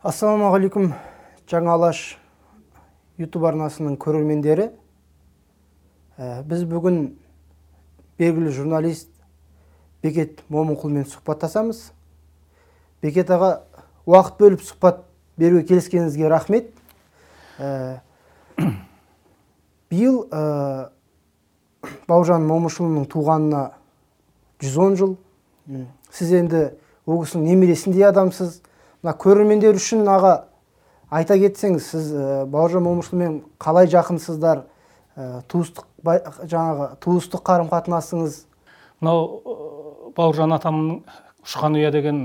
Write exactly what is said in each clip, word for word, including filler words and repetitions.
Ассалаумағалейкум, Жаңа Алаш YouTube арнасының көрермендері. Біз бүгін белгілі журналист Бекет Момынқұлмен сұхбаттасамыз. Бекет аға, уақыт бөліп сұхбат беруге келіскеніңізге рахмет. Биыл Бауыржан Момышұлының туғанына жүз он жыл. Сіз енді ол кісінің немересіндей адамсыз. Көрермендер үшін аға айта кетсеңіз, сіз Бауыржан Момышұлымен қалай жақынсыздар, туыстық жаңағы туыстық қарым-қатынасыңыз? Мынау Бауыржан атамның «Ұшқан ұя» деген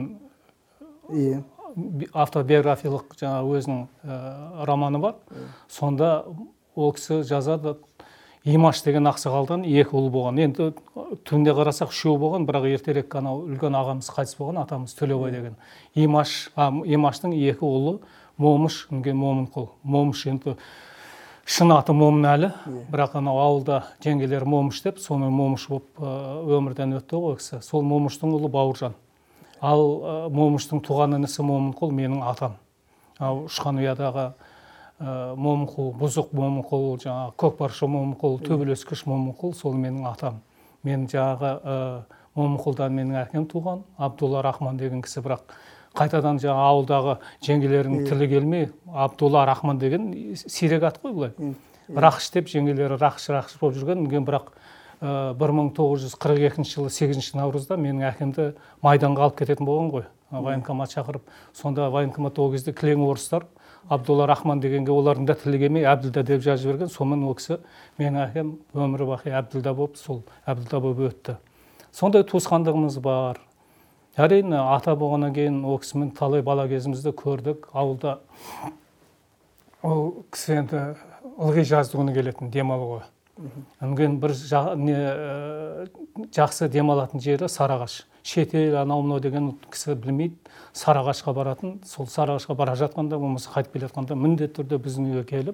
автобиографиялық жаңағы өзінің романы бар. Сонда ол кісі жазады, Имаш деген ақсақалдан екі ұл болған. Енді түнде қарасақ үшеу болған, бірақ ертерек анау үлкен ағамыз қайтыс болған, атамыз Төлеубай деген. Имаш, Имаштың екі ұлы Момыш, Момынқұл. Момыш енді шын аты Момынәлі, бірақ анау ауылда жеңгелері Момыш деп, соны Момыш болып өмірден өтті ғой кісі. Сол Момыштың ұлы Бауыржан. Ал Момыштың туған інісі Момынқұл менің атам. Ұшқан ұядағы Момынқұл, Бұзық Момынқұл, жаңағы Көкпаршы Момынқұл, Төбелескіш Момынқұл, сол менің атам. Мен жаңағы Момынқұлдан менің әкем туған, Абдулла Рахман деген кісі, бірақ қайтадан жаңағы ауылдағы жеңгелерінің тілі келмей, Абдулла Рахман деген сирек ат қой бұлай. Рақыш деп жеңгелері рақыш-рақыш болып жүрген, бірақ бір мың тоғыз жүз қырық екінші жылы сегізінші наурызда менің әкемді майданға алып кететін болған ғой. Военкомат шақырып, сонда военкомат ол кезде кілең орыстар, Абдулла Рахман дегенге олардың да тілі келмей Әбділда деп жазып жіберген. Сонымен ол кісі менің әкем өмірі бақи Әбділда болып, сол Әбділда болып өтті. Сондай туысқандығымыз бар. Әрине ата болғаннан кейін ол кісімен талай бала кезімізді көрдік. Ауылда ол кісі енді ылғи жаздыгүні келетін демалуға. Өнген бір жақсы демалатын жері Сарыағаш. Шетел, анау-мынау деген кісі білмейді. Сарыағашқа баратын, сол Сарыағашқа бара жатқанда, болмаса қайтып келе жатқанда міндетті түрде біздің үйге келіп,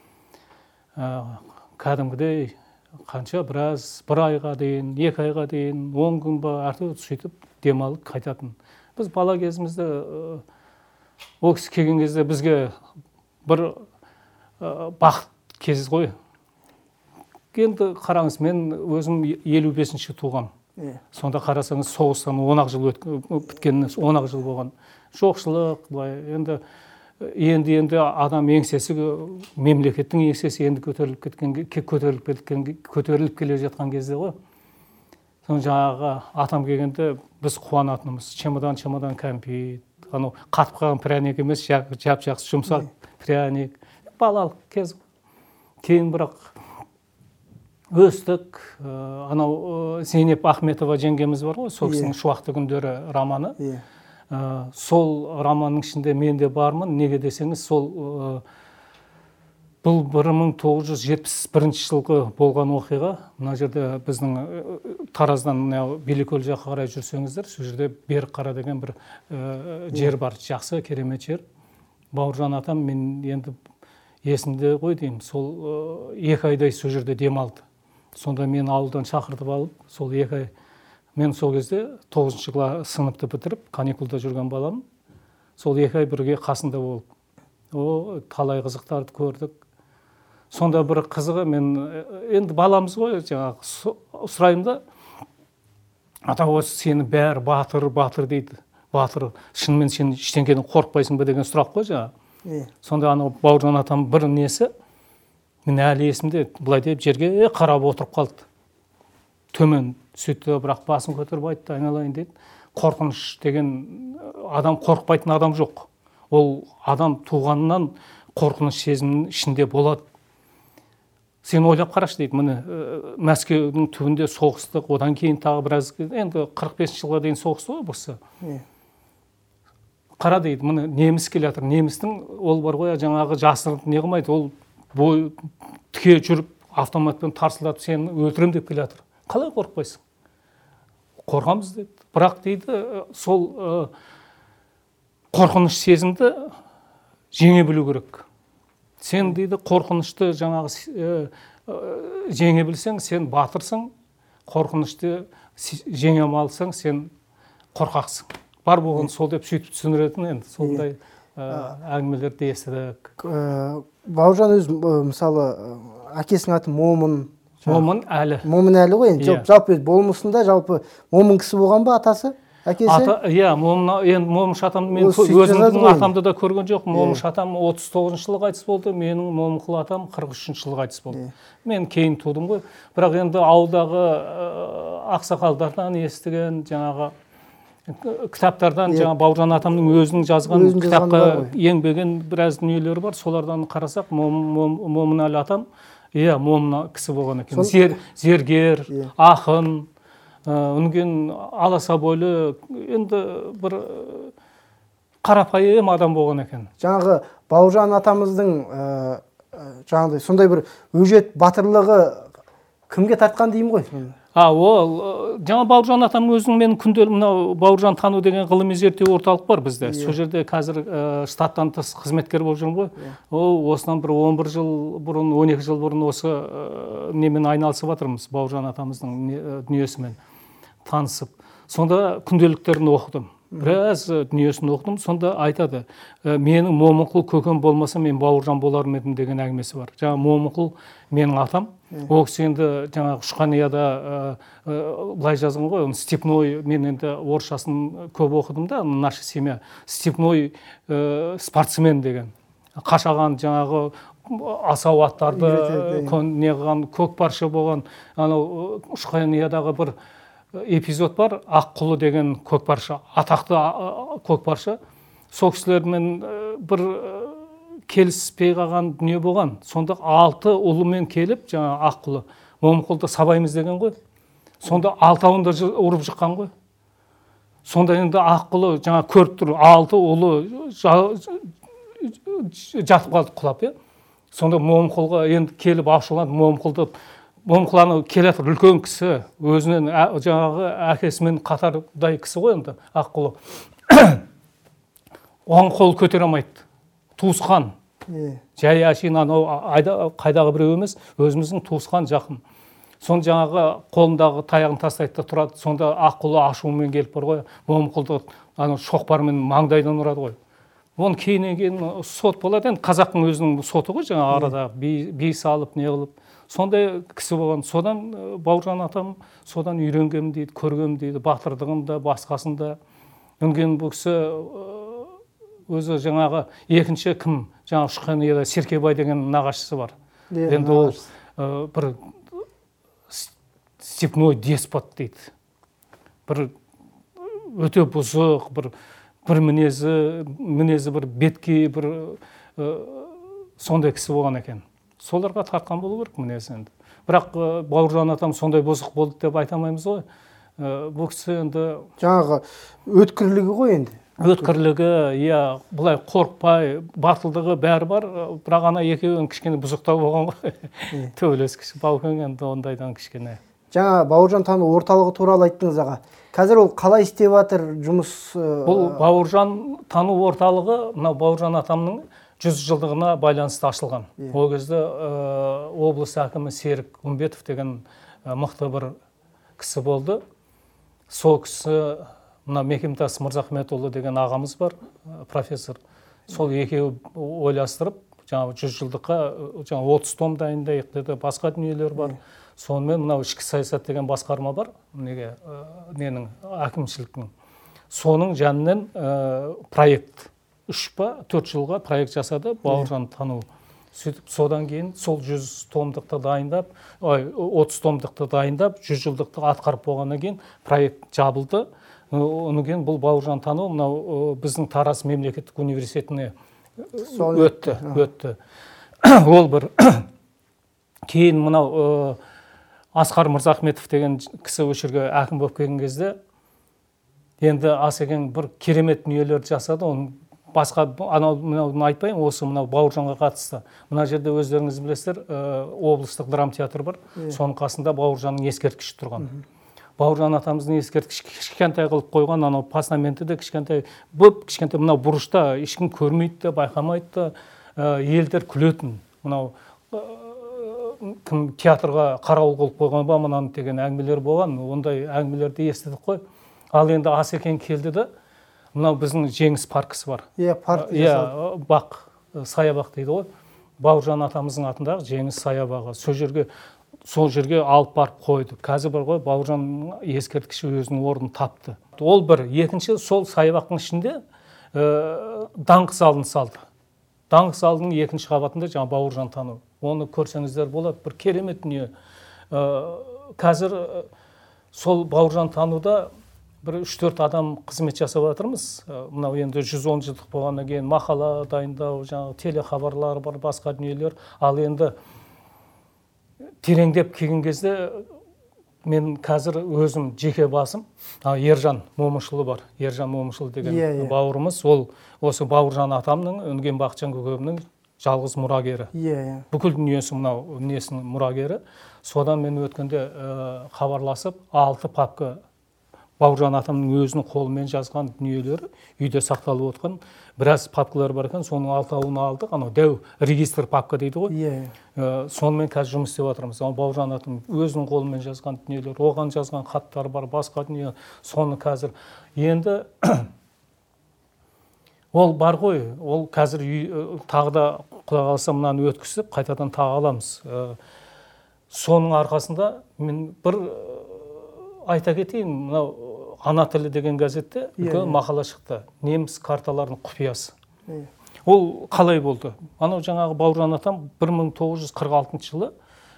кәдімгідей қанша біраз, бір айға дейін, екі айға дейін, он күн ба, әртүрлі сөйтіп демалып қайтатын. Біз бала кезімізде ол кісі келген кезде бізге бір бақыт кез ғой. Енді қараңыз, мен өзім елу бесінші туғам. Сонда қарасаңыз, соғыстан он ақ жыл біткеніне он ақ жыл болған. Жоқшылық, енді енді енді адам еңсесі, мемлекеттің еңсесі енді көтеріліп кеткен, көтеріліп кеткен, көтеріліп келе жатқан кезде ғой. Соны жаңағы атам келгенде біз қуанатынымыз, чемодан-чемодан кәмпит, анау қатып қалған пряник емес, жап-жақсы жұмсақ пряник, балалық кез. Кейін бірақ өстік, анау Зейнеп Ахметова жеңгеміз бар ғой, сол кісінің «Шуақты күндері» романы. Сол романның ішінде мен де бармын, неге десеңіз, сол бұл бір мың тоғыз жүз жетпіс бірінші жылғы болған оқиға. Мына жерде біздің Тараздан Билікөл жаққа қарай жүрсеңіздер, сол жерде Берікқара деген бір жер бар, жақсы, керемет жер. Бауыржан атам мен енді есімде ғой деймін, сол екі айдай сол жерде демалды. Сонда мен ауылдан шақыртып алып, сол екі ай, мен сол кезде тоғызыншы сыныпты бітіріп, каникулда жүрген балам, сол екі ай бірге қасында болып, о, талай қызықтарды көрдік. Сонда бір қызығы, мен енді баламыз ғой, жаңағы сұрайым да, ата осы сені бәрі батыр, батыр дейді. Батыр, шынымен сен ештеңеден қорықпайсың ба деген сұрақ қой жаңағы. Сонда анау Бауыржан атам бір несі, мен әлі есімде, бұлай деп жерге қарап отырып қалды. Төмен сөйтті, бірақ басын көтеріп айтты, айналайын дейді. Қорқыныш деген адам, қорықпайтын адам жоқ. Ол адам туғаннан қорқыныш сезімінің ішінде болады. Сен ойлап қарашы дейді, міне Мәскеудің түбінде соғыстық, одан кейін тағы біраз, енді қырық бесінші жылға дейін соғысты ғой бұсы. Қара дейді, міне неміс келе жатыр. Немістің ол бар ғой, жаңағы жасырынып не қылмайды, ол бой тіке жүріп, автоматпен тарсылдатып сені өлтірем деп келе жатыр. Қалай қорықпайсың? Қорқамыз дейді. Бірақ дейді, сол қорқыныш сезімді жеңе білу керек. Сен дейді, қорқынышты жаңағы жеңе білсең, сен батырсың, қорқынышты жеңе алсаң, сен қорқақсың. Бар болған сол деп сөйтіп түсіндіретін енді, сондай әңгімелерді естідік. Бауыржан өзі мысалы әкесінің аты Момын. Момын әлі. Момын әлі ғой енді. Жалпы болмысында жалпы момын кісі болған ба атасы? Әкесі? Иә, Момыш атамды мен өзімнің атамды да көрген жоқ. Момыш атам отыз тоғызыншы жылы қайтыс болды, менің Момынқұл атам қырық үшінші жылы қайтыс болды. Мен кейін тудым ғой. Бірақ енді ауылдағы ақсақалдардан естіген жаңағы кітаптардан, жаңа Бауыржан атамның өзінің жазған кітапқа еңбеген біраз дүниелері бар. Солардан қарасақ, Момынәлі атам, иә, момын кісі болған екен. Зергер, ақын, үнген аласа бойлы, енді бір қарапайым адам болған екен. Жаңағы Бауыржан атамыздың жаңағыдай сондай бір өжет батырлығы кімге тартқан деймін ғой? А, ол жаңа Бауыржан атамның өзінің мен күнделік мынау Бауыржан тану деген ғылыми зерттеу орталық бар бізде. Сол жерде қазір штаттан тыс қызметкер болып жүрмін ғой. Ол осынан бір он бір жыл бұрын, он екі жыл бұрын осы немен айналысып жатырмыз, Бауыржан атамыздың дүниесімен танысып. Сонда күнделіктерін оқыдым. Біраз дүниесін оқыдым. Сонда айтады, менің Момынқұл көкем болмаса мен Бауыржан болар ма едім деген әңгімесі бар. Жаңа Момынқұл менің атам. Ол кісі енді жаңағы Шұқанияда былай жазған ғой, степной, мен енді орысшасын көп оқыдым да, наша семья, степной спортсмен деген. Қашаған жаңағы асау аттарды неғылған, көкпаршы болған, анау Шұқаниядағы бір эпизод бар, Аққұлы деген көкпаршы, атақты көкпаршы. Сол кісілермен бір келіспей қалған дүние болған. Сонда алты ұлымен келіп, жаңа Аққұлы, Момынқұлды сабаймыз деген ғой. Сонда алтауында ұрып жыққан ғой. Сонда енді Аққұлы жаңа көріп тұр, алты ұлы жатып қалды құлап, е. Сонда Момынқұлға енді келіп ашуланды, Момынқұлды Момынқұл келе жатыр, үлкен кісі, өзінен жаңағы әкесімен қатардай кісі ғой енді Аққұлы. Оған қол көтере алмайды. Туысқан. Жай әшейін анау қайдағы біреу емес, өзіміздің туысқан жақын. Сонда жаңағы қолындағы таяғын тастайды да тұрады. Сонда Аққұлы ашуымен келіп бар ғой, Момынқұлды анау шоқпармен маңдайдан ұрады ғой. Оны кейіннен кейін сот болады, енді қазақтың өзінің соты ғой, жаңа арада бей салып, не қылып. Сондай кісі болған. Содан Бауыржан атам содан үйренгем дейді, көргем дейді, батырдығында, басқасында. Үнген бұл кісі өзі жаңағы екінші кім, жаңағы Шұқанияда Серкебай деген нағашысы бар. Енді ол бір степной деспот дейді. Бір өте бұзық, бір бір мінезі, мінезі бір бетке, бір сондай кісі болған екен. Соларға тартқан болу керек мінезі енді. Бірақ Бауыржан атам сондай бұзық болды деп айтамаймыз ғой. Бұл кісі енді жаңағы өткірлігі ғой енді. Өткірлігі, иә, бұлай қорықпай, батылдығы бәрі бар, бірақ ана екеуін кішкене бұзықтау болған ғой. Төбелес кіші, Баукен енді ондайдан кішкене. Жаңа Бауыржан тану орталығы туралы айттыңыз аға. Қазір ол қалай істеп жатыр жұмыс? Бұл Бауыржан тану орталығы, мынау Бауыржан атамның жүз жылдығына байланысты ашылған. Ол кезде облыс әкімі Серік Үмбетов деген мықты бір кісі болды. Сол кісі, мына Мекемтас Мырзахметұлы деген ағамыз бар, профессор. Сол екеуі ойластырып, жаңағы жүз жылдыққа жаңағы отыз том дайындайық деді, басқа дүниелер бар. Сонымен мынау ішкі саясат деген басқарма бар, неге ненің әкімшіліктің. Соның жанынан проект үш па төрт жылға проект жасады Бауыржан тану. Сөйтіп содан кейін сол жүз томдықты дайындап, отыз томдықты дайындап, жүз жылдықты атқарып болғаннан кейін проект жабылды. Онан кейін бұл Бауыржан тану мынау біздің Тараз мемлекеттік университетіне өтті, өтті. Ол бір кейін мынау Асқар Мырзахметов деген кісі өшірге әкім болып келген кезде енді Асекең бір керемет дүниелерді жасады. Оның басқа анау мынауны айтпайын, осы мынау Бауыржанға қатысты. Мына жерде өздеріңіз білесіздер, облыстық драма театр бар. Соның қасында Бауыржанның ескерткіші тұрған. Бауыржан атамыздың ескерткіші кішкентай қылып қойған, анау постаменті де кішкентай, бүп кішкентай мынау бұрышта ешкім көрмейді де, байқамайды да, елдер күлетін. Мынау кім театрға қарауыл қылып қойған ба мынаны деген әңгімелер болған. Ондай әңгімелерді естідік қой. Ал енді Асекең келді де, мынау біздің жеңіс паркісі бар. Иә, парк. Иә, бақ, саябақ дейді ғой. Бауыржан атамыздың атындағы жеңіс саябағы. Сол жерге сол жерге алып барып қойды. Қазір бар ғой, Бауыржан ескерткіші өзінің орнын тапты. Ол бір. Екінші, сол саябақтың ішінде даңқ залын салды. Даңқ залының екінші қабатында жаңа Бауыржан тану. Оны көрсеңіздер болады, бір керемет дүние. Қазір сол Бауыржан тануда бір үш-төрт адам қызмет жасап жатырмыз. Мынау енді жүз он жылдық болғаннан кейін мақала дайындау, жаңағы телехабарлар бар, басқа дүниелер. Ал енді тереңдеп келген кезде мен қазір өзім жеке басым, Ержан Момышұлы бар. Ержан Момышұлы деген бауырымыз, ол осы Бауыржан атамның, Өнген Бақытжан көкемнің жалғыз мұрагері. Бүкіл дүниесі мынау несінің мұрагері. Содан мен өткенде хабарласып, алты папка Бауыржан атамның өзінің қолымен жазған дүниелері үйде сақталып отқан біраз папкалар бар екен, соның алтауын алдық. Анау дәу регистр папка дейді ғой. Сонымен қазір жұмыс істеп жатырмыз. Бауыржан атам өзінің қолымен жазған дүниелер, оған жазған хаттар бар, басқа дүние. Соны қазір енді ол бар ғой, ол қазір тағы да Құдай қаласа мынаны өткізіп, қайтадан тағы аламыз. Соның арқасында мен бір айта кетейін, мынау Ана тілі деген газетте үлкен мақала шықты. Неміс карталарының құпиясы. Ол қалай болды? Анау жаңағы Бауыржан атам бір мың тоғыз жүз қырық алтыншы жылы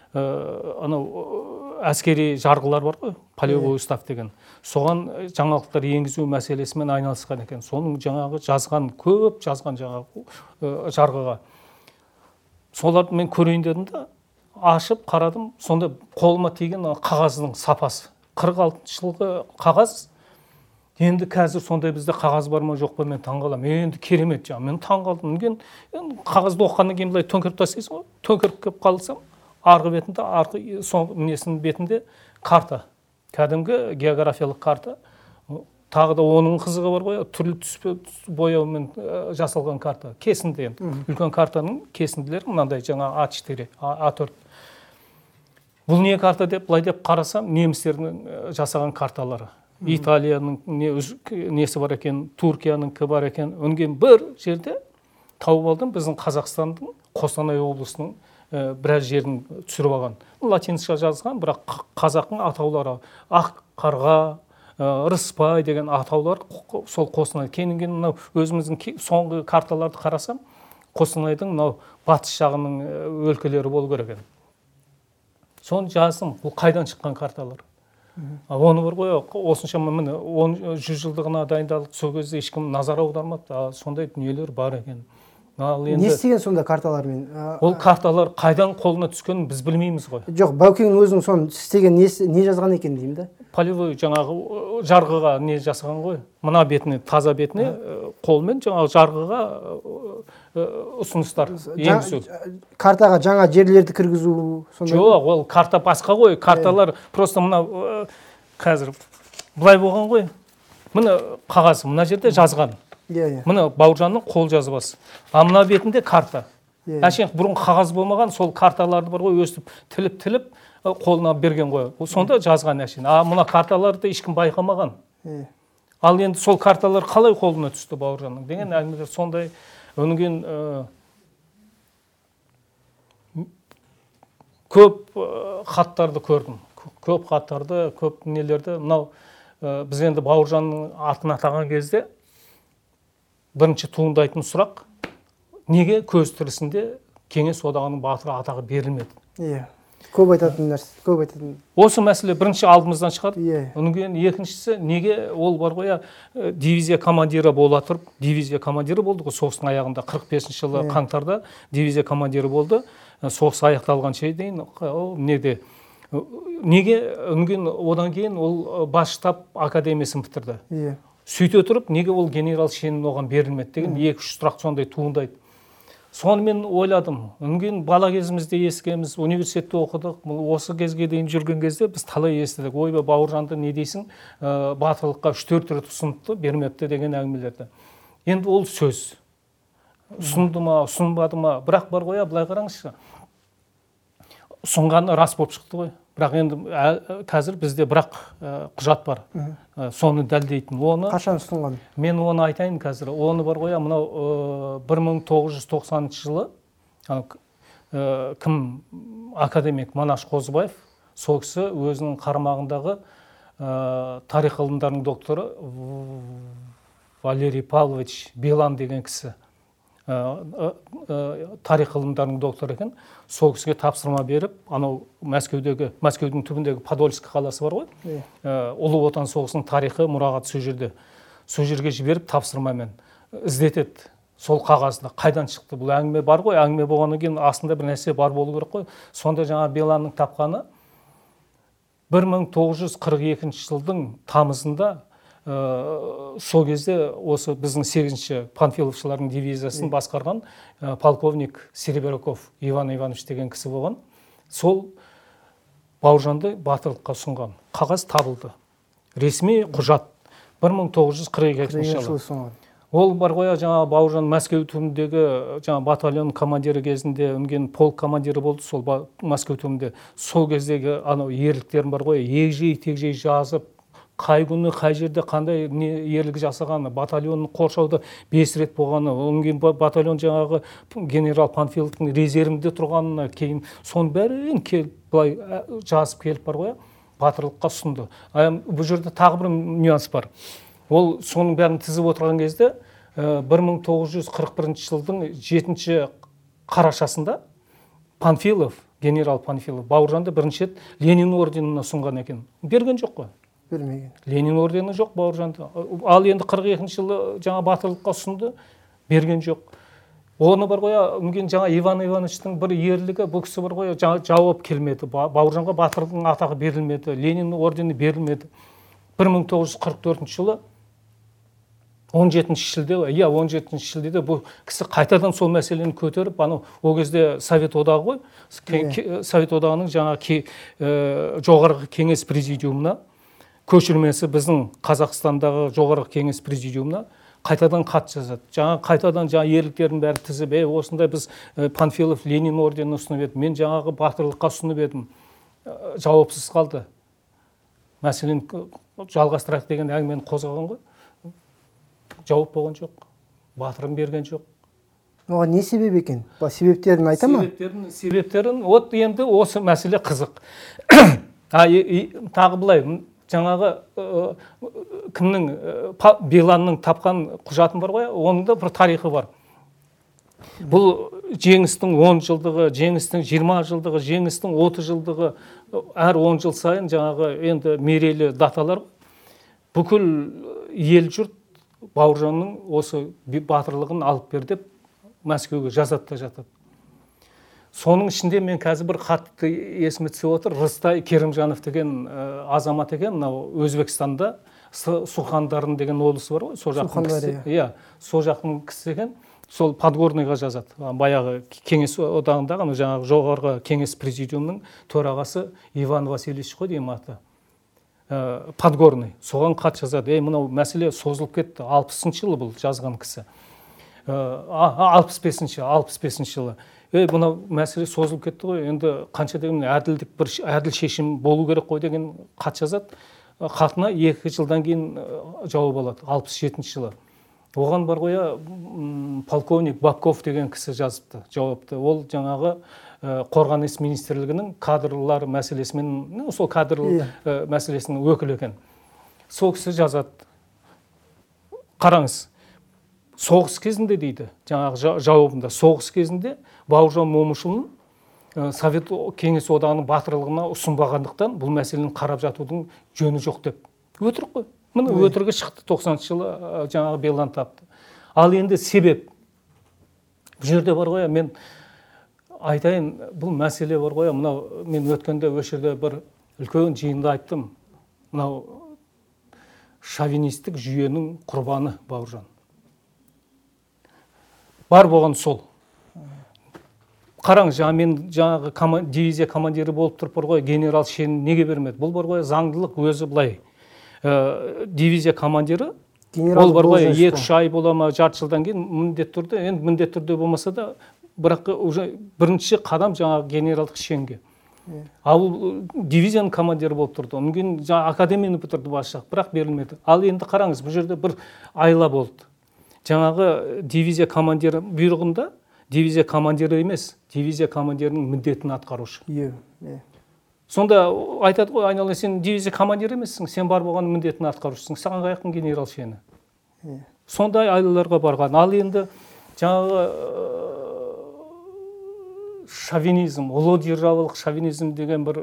анау әскери жарғылар бар ғой, полевой устав деген. Соған жаңалықтар енгізу мәселесімен айналысқан екен. Соның жаңағы жазған, көп жазған жаңағы жарғыға. Соларды мен көрейін дедім де, ашып қарадым, сонда қолыма тиген қағаздың сапасы. қырық алтыншы жылғы қағаз. Енді қазір сондай бізде қағаз бар ма жоқ па, мен таңғаламын. Енді керемет жаңа, мен таңғалдым. Мен қағазды оққаннан кейін былай төңкеріп тастайсың ғой. Төңкеріп келіп қалсам, арғы бетінде, арғы соңғы несінің бетінде карта. Кәдімгі географиялық карта. Тағы да оның қызығы бар ғой, түрлі түс бояумен жасалған карта. Кесінді енді. Үлкен картаның кесінділері мынандай жаңа а четыре, а төрт. Бұл не карта деп, былай деп қарасам, немістердің жасаған карталары. Италияның несі бар екен, Туркияның бар екен. Өнген бір жерде тауып алдым, біздің Қазақстанның Қостанай облысының біраз жерін түсіріп алған. Латинша жазған, бірақ қазақтың атаулары Ақ қарға, Рыспай деген атаулар сол Қостанай. Кейіннен мынау өзіміздің соңғы карталарды қарасам, Қостанайдың мынау батыс жағының өлкелері болу керек. Соны жаздым, бұл қайдан шыққан карталар. Оны бар ғой, осыншама міне жүз жылдығына дайындалып, сол кезде ешкім назар аудармады, сондай дүниелер бар екен. Не істеген сонда карталармен? Ол карталар қайдан қолына түскенін біз білмейміз ғой. Жоқ, Баукеңнің өзінің соны істеген не жазған екен деймін да? Полевой жаңағы жарғыға не жасаған ғой. Мына бетіне, таза бетіне қолмен жаңағы жарғыға ұсыныстар енгізу. Картаға жаңа жерлерді кіргізу сондай? Жоқ, ол карта басқа ғой. Карталар просто мына қазір былай болған ғой. Мына қағаз мына жерде жазған. Мына Бауыржанның қол жазбасы. А мына бетінде карта. Әшейін бұрын қағаз болмаған, сол карталарды бар ғой, өстіп тіліп-тіліп қолына берген ғой. Сонда жазған әшейін. А мына карталарды ешкім байқамаған. Ал енді сол карталар қалай қолына түсті Бауыржанның деген әңгімелер сондай. Өнген көп хаттарды көрдім. Көп хаттарды, көп нелерді. Мынау біз енді Бауыржанның атын атаған кезде бірінші туындайтын сұрақ, неге көз тірісінде Кеңес одағының батыры атағы берілмеді? Иә. Көп айтатын нәрсе, көп айтатын. Осы мәселе бірінші алдымыздан шығады. Оның кейін екіншісі, неге ол бар ғой, дивизия командирі бола тұрып, дивизия командирі болды ғой, соғыстың аяғында қырық бесінші жылы қаңтарда дивизия командирі болды. Соғыс аяқталғанша дейін неде неге одан кейін ол бас штаб академиясын бітірді. Иә. Сөйте тұрып, неге ол генерал шенін оған берілмеді деген екі-үш сұрақ сондай туындайды. Соны мен ойладым. Өнген бала кезімізде ескеміз, университетте оқыдық. Осы кезге дейін жүрген кезде біз талай естідік. Ойба, Бауыржанды не дейсің, батырлыққа үш-төрт рет ұсыныпты, бермепті деген әңгімелерді. Енді ол сөз. Ұсынды ма, ұсынбады ма, бірақ бар ғой, былай қараңызшы. Ұсынғаны рас болып шықты ғой. бірақ енді қазір бізде бірақ құжат бар, соны дәлдейтін. Оны қашан ұсынған? Мен оны айтайын қазір. Оны бар ғой, мынау бір мың тоғыз жүз тоқсаныншы жылы кім академик Манаш Қозыбаев, сол кісі өзінің қарамағындағы тарих ғылымдарының докторы Валерий Павлович Билан деген кісі, тарих ғылымдарының докторы екен. Сол кісіге тапсырма беріп, анау Мәскеудегі, Мәскеудің түбіндегі Подольск қаласы бар ғой, Ұлы Отан соғысының тарихы, мұрағаты сол жерде. Сол жерге жіберіп тапсырмамен іздетеді. Сол қағазда қайдан шықты? Бұл әңгіме бар ғой, әңгіме болғаннан кейін астында бір нәрсе бар болу керек қой. Сонда жаңа Биланның тапқаны бір мың тоғыз жүз қырық екінші жылдың тамызында, сол кезде осы біздің сегізінші панфиловшылардың дивизиясын басқарған полковник Серебряков Иван Иванович деген кісі болған. Сол Бауыржанды батырлыққа ұсынған қағаз табылды. Ресми құжат бір мың тоғыз жүз қырық екінші жылы. Ол бар ғой, жаңа Бауыржан Мәскеу түбіндегі жаңа батальон командирі кезінде өнген полк командирі болды, сол Мәскеу түбінде. Сол кездегі анау ерліктерін бар ғой, егжей тегжей жазып, қай күні, қай жерде қандай ерлік жасағаны, батальонның қоршауда бес рет болғаны, өнген батальон жаңағы генерал Панфиловтың резервінде тұрғанына кейін соның бәрін келіп, былай жазып келіп бар ғой, батырлыққа ұсынды. Бұл жерде тағы бір нюанс бар. Ол соның бәрін тізіп отырған кезде бір мың тоғыз жүз қырық бірінші жылдың жетінші қарашасында Панфилов, генерал Панфилов, Бауыржанды бірінші рет Ленин орденіне ұсынған екен. Берген жоқ қой? Бермеген. Ленин ордені жоқ Бауыржанды. Ал енді қырық екінші жылы жаңа батырлыққа ұсынды, берген жоқ. Оны бар ғой, үнген жаңа Иван Ивановичтің бір ерлігі, бұл кісі бар ғой, жауап келмеді. Бауыржанға батырлықтың атағы берілмеді, Ленин ордені берілмеді. бір мың тоғыз жүз қырық төртінші жылы он жетінші шілде, иә он жетінші шілдеде бұл кісі қайтадан сол мәселені көтеріп, анау ол кезде Совет одағы ғой, Совет одағының жаңа жоғарғы кеңес президиумына, көшірмесі біздің Қазақстандағы жоғарғы кеңес президиумына қайтадан хат жазады. Жаңа қайтадан жаңа ерліктерін бәрі тізіп, осындай біз Панфилов Ленин орденін ұсынып едім, мен жаңағы батырлыққа ұсынып едім, жауапсыз қалды. Мәселен жалғастырайық деген әңгімені қозғаған ғой. Жауап болған жоқ, батырын берген жоқ. Оған не себеп екен? Себептерін айта ма? Себептерін, себептерін, от енді осы мәселе қызық. Тағы былай, жаңағы кімнің, Биланның тапқан құжатын бар ғой, оның да бір тарихы бар. Бұл жеңістің он жылдығы, жеңістің жиырма жылдығы, жеңістің отыз жылдығы, әр он жыл сайын жаңағы енді мерейлі даталар. Бүкіл ел жұрт Бауыржанның осы батырлығын алып бер деп Мәскеуге жазады да жатады. Соның ішінде мен қазір бір қатты есіме түсіп отыр. Рыстай Керімжанов деген азамат екен, Өзбекстанда Сухандарын деген облысы бар ғой, сол жақтың кісі. Иә, сол жақтың кісі екен. Сол Подгорныйға жазады. Баяғы кеңес одағындағы, жаңағы жоғарғы кеңес президиумының төрағасы Иван Васильевич қой деймін аты. Подгорный. Соған хат жазады. Ей, мынау мәселе созылып кетті. алпысыншы жылы бұл жазған кісі. алпыс бесінші, алпыс бесінші жылы. Ей, мынау мәселе созылып кетті ғой. Енді қанша деген әділдік, бір әділ шешім болу керек қой деген хат жазады. Хатына екі жылдан кейін жауап алады. алпыс жетінші жылы. Оған бар ғой, полковник Бабков деген кісі жазыпты, жауапты. Ол жаңағы қорғаныс министрлігінің кадрлар мәселесімен, сол кадр мәселесінің өкілі екен. Сол кісі жазады. Қараңыз, соғыс кезінде дейді, жаңағы жауабында, соғыс кезінде Бауыржан Момышұлының Совет кеңес одағының батырлығына ұсынбағандықтан бұл мәселені қарап жатудың жөні жоқ деп. Өтірік қой. Міне өтірігі шықты, тоқсаныншы жылы жаңағы Билан тапты. Ал енді себеп. Бұл жерде бар ғой, мен айтайын, бұл мәселе бар ғой, мынау мен өткенде өшірде бір үлкен жиында айттым. Мынау шовинистік жүйенің құрбаны Бауыржан. Бар болған сол. Қараңыз, мен жаңағы дивизия командирі болып тұрып бар ғой, генерал шенін неге бермеді? Бұл бар ғой, заңдылық өзі былай. Дивизия командирі, ол бар ғой, екі-үш ай бола ма, жарты жылдан кейін міндет түрде, енді міндет түрде болмаса да, бірақ уже бірінші қадам жаңағы генералдық шенге. ал дивизияның командирі болып тұрды, одан кейін жаңа академияны бітірді бас жақ, бірақ берілмеді. Ал енді қараңыз, бұл жерде бір айла болды. Жаңағы дивизия командирі бұйрығында дивизия командирі емес, дивизия командирінің міндетін атқарушы. Сонда айтады ғой, айнала, сен дивизия командирі емессің, сен бар болған міндетін атқарушысың, саған қаяқтың генерал сені. Сондай айлаларға барған. Ал енді жаңағы шовинизм, ұлы державалық шовинизм деген бір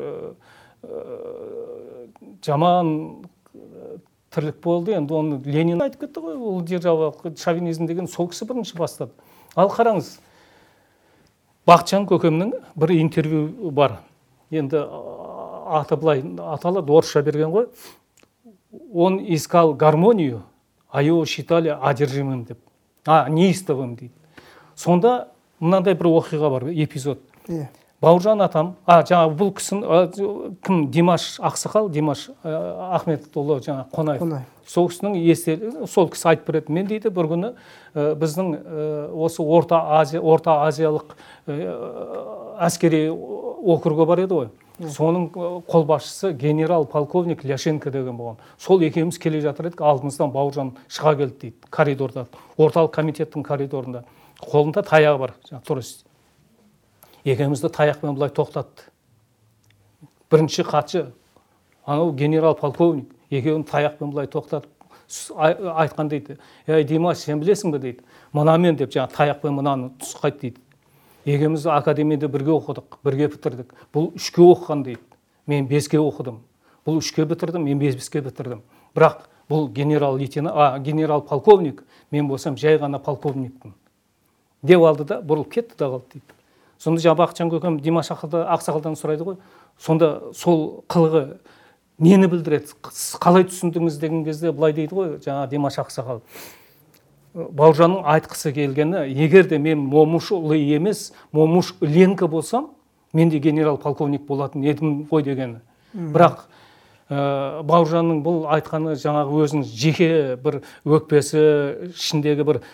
жаман тірлік болды. Енді оны Ленин айтып кетті ғой, ұлы державалық шовинизм деген сол кісі бірінші бастады. Ал қараңыз, Бақытжан көкемнің бір интервью бар. Енді аты былай аталады, орысша берген ғой. Он искал гармонию, а его считали одержимым деп. А, неистовым дейді. Сонда мынандай бір оқиға бар, эпизод. Бауыржан атам, а жаңағы бұл кісінің кім? Димаш Ақсақал, Димаш Ахметұлы жаңа Қонаев. Сол кісінің естелігі, сол кісі айтып береді. Мен дейді бір күні біздің осы Орта Азия, Орта Азиялық әскери округі бар еді ғой. Соның қолбасшысы генерал полковник Ляшенко деген болған. Сол екеуміз келе жатыр едік, алдымыздан Бауыржан шыға келді дейді, коридорда, орталық комитеттің коридорында. Қолында таяғы бар, турист. Екеумізді таяқпен бұлай тоқтатты. Бірінші хатшы, анау генерал полковник, екеуін таяқпен бұлай тоқтатып айтқан дейді. Ей, Димаш, сен білесің бе дейді. Мұнамен деп жаңа таяқпен мұнаны тұсқайды дейді. Екеуміз академияда бірге оқыдық, бірге бітірдік. Бұл үшке оқыған дейді. Мен беске оқыдым. Бұл үшке бітірдім, мен беске бітірдім. Бірақ бұл генерал лейтенант, а генерал полковник, мен болсам жай ғана полковникпін. Деп алды да, бұрылып кетті да қалды дейді. Сонда жаңа Бақытжан көкем Димаш Ақсақалдан сұрайды ғой. Сонда сол қылығы нені білдіреді? Қалай түсіндіңіз деген кезде былай дейді ғой, жаңа Димаш Ақсақал. Бауыржанның айтқысы келгені, егер де мен Момышұлы емес, Момыш Ленко болсам, мен де генерал полковник болатын едім ғой дегені. Бірақ Бауыржанның бұл айтқаны жаңағы өзінің жеке бір өкпесі, ішіндегі бір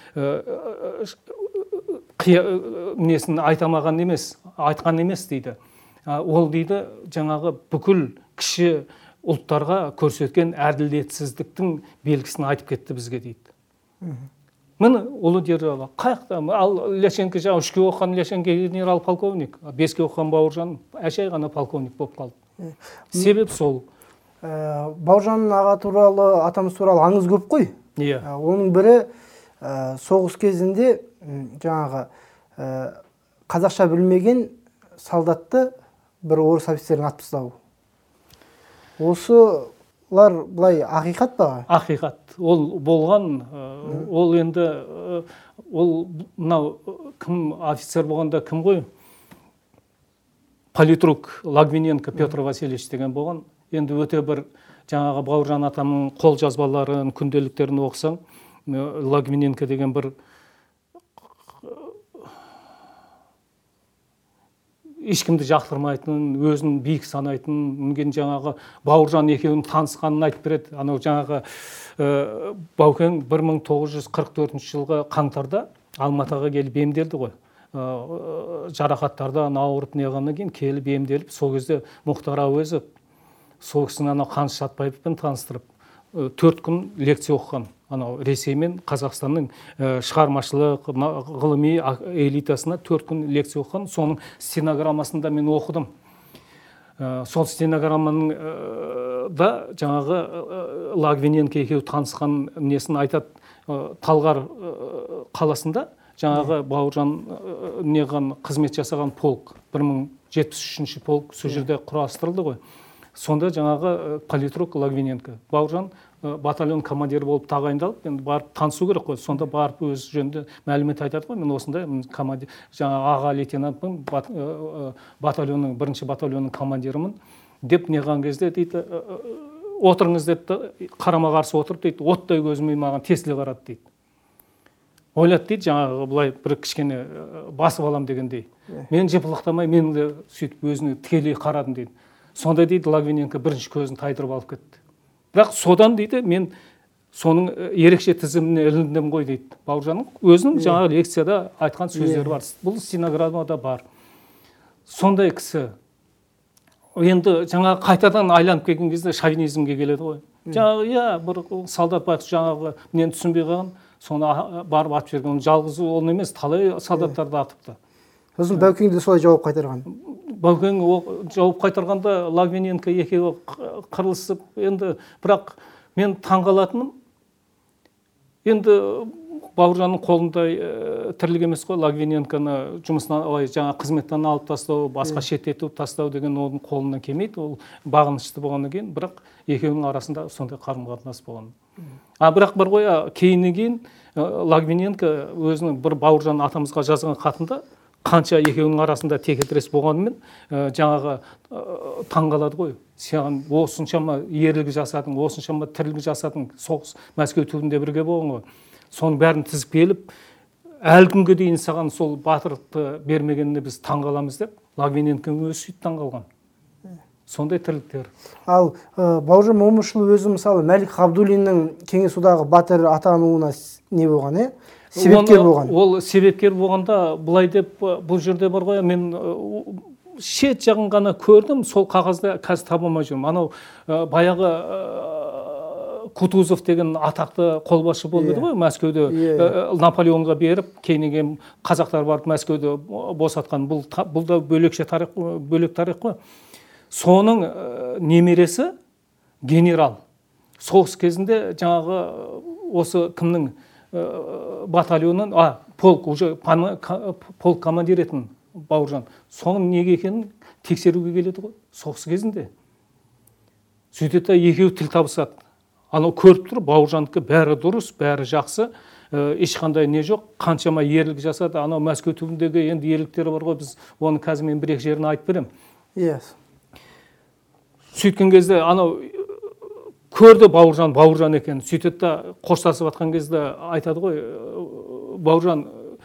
несін айтамаған емес, айтқан емес дейді. Ол дейді жаңағы бүкіл кіші ұлттарға көрсеткен әділетсіздіктің белгісін айтып кетті бізге дейді. Міне ұлы держава қаяқта, ал Ляшенко жаңа үшке оқыған Ляшенко генерал полковник, беске оқыған Бауыржан әшей ғана полковник болып қалды. Себеп сол. Бауыржанның аға туралы, атамыз туралы аңыз көп қой. Оның бірі соғыс кезінде жаңағы қазақша білмеген солдатты бір орыс офицерін атып тастау. Осылар былай ақиқат па? Ақиқат. Ол болған, ол енді ол мынау кім офицер болғанда кім ғой? Политрук Лагвиненко Петр Васильевич деген болған. Енді өте бір жаңағы Бауыржан атамның қол жазбаларын, күнделіктерін оқысаң, Лагвиненко деген бір ешкімді жақтырмайтын, өзін биік санайтын, мүмкін жаңағы Бауыржан екеуінің танысқанын айтып береді. Анау жаңағы Баукең бір мың тоғыз жүз қырық төртінші жылғы қаңтарда Алматыға келіп емделді ғой. Жарақаттардан ауырып неғаннан кейін келіп емделіп, сол кезде Мұхтар Әуезов сол кісіні анау Қаныш Сәтбаевпен таныстырып, төрт күн лекция оқыған. Анау Ресей мен Қазақстанның шығармашылық, ғылыми элитасына төрт күн лекция оқыған. Соның стенограммасында мен оқыдым. Сол стенограмманың да жаңағы Лагвиненко екеуі танысқан несін айтады. Талғар қаласында жаңағы Бауыржан неған қызмет жасаған полк, бір мың жетпіс үшінші полк сол жерде құрастырылды ғой. Сонда жаңағы политрук Лагвиненко. Бауыржан батальон командирі болып тағайындалып, енді барып танысу керек қой. Сонда барып өз жөнінде мәлімет айтады ғой. Мен осындай командир, жаңа аға лейтенантпын, батальонның, бірінші батальонның командирімін деп неған кезде дейді, отырыңыз деді, қарама қарсы отырып дейді, оттай көзіме маған тесіле қарады дейді. Ойлады дейді, жаңағы бұлай бір кішкене басып алам дегендей. Мен жыпылықтамай, мен де сөйтіп өзіне тікелей қарадым дейді. Сонда дейді, Лагвиненко бірінші көзін тайдырып алып кетті. Бірақ содан дейді, мен соның ерекше тізіміне іліндім ғой дейді. Бауыржанның өзінің жаңағы лекцияда айтқан сөздері бар. Бұл стенограммада бар. Сондай кісі енді жаңа қайтадан айланып келген кезде шовинизмге келеді ғой. Жаңағы иә бір солдат байқұс жаңағы нені түсінбей қалған, соны барып атып жіберген. Жалғыз ол емес, талай солдаттарды атыпты. Сосын Баукең де солай жауап қайтарған. Баукең жауап қайтарғанда Логвиненко екеуі қырылысып, енді бірақ мен таңғалатыным, енді Бауыржанның қолында тірлік емес қой, Логвиненконы жұмысынан, жаңа қызметтен алып тастау, басқа шеттетіп тастау деген оның қолынан келмейді. Ол бағынышты болғаннан кейін, бірақ екеуінің арасында сондай қарым-қатынас болған. А бірақ бір ғой, кейіннен кейін Логвиненко өзінің бір Бауыржан атамызға жазған хатында қанша екеуінің арасында текетірес болғанымен жаңағы таңғалады ғой. Сен осыншама ерлік жасадың, осыншама тірлік жасадың, соғыс Мәскеу түбінде бірге болған ғой. Соның бәрін тізіп келіп, әлі күнге дейін саған сол батырлықты бермегеніне біз таңғаламыз деп, Логвиненконың өзі сөйтіп таңғалған. Сондай тірліктер. Ал Бауыржан Момышұлы өзі мысалы Мәлік Ғабдуллиннің Кеңес одағы батыр атануына не болған, е? Себепкер болған. Ол себепкер болғанда бұлай деп, бұл жерде бар ғой, мен шет жағын ғана көрдім, сол қағазда қазір таба алмай жүрмін. Анау баяғы Кутузов деген атақты қолбасшы болды ғой, Мәскеуде Наполеонға беріп, кейіннен қазақтар барып Мәскеуді босатқан. Бұл да бөлекше тарих, бөлек тарих қой. Соның немересі генерал. Соғыс кезінде жаңағы осы кімнің батальонын, а, полк, уже полк командир етін Бауыржан. Соның неге екенін тексеруге келеді ғой, соғыс кезінде. Сөйтеді екеуі тіл табысады. Анау көріп тұр, Бауыржандікі бәрі дұрыс, бәрі жақсы, ешқандай не жоқ, қаншама ерлік жасады. Анау Мәскеу түбіндегі енді ерліктері бар ғой, біз оны қазір мен бір-екі жерін айтып берем. Иә. Сөйткен кезде анау көрді Бауыржан, Бауыржан екен. Сөйтеді қоштасып атқан кезде айтады ғой, Бауыржан,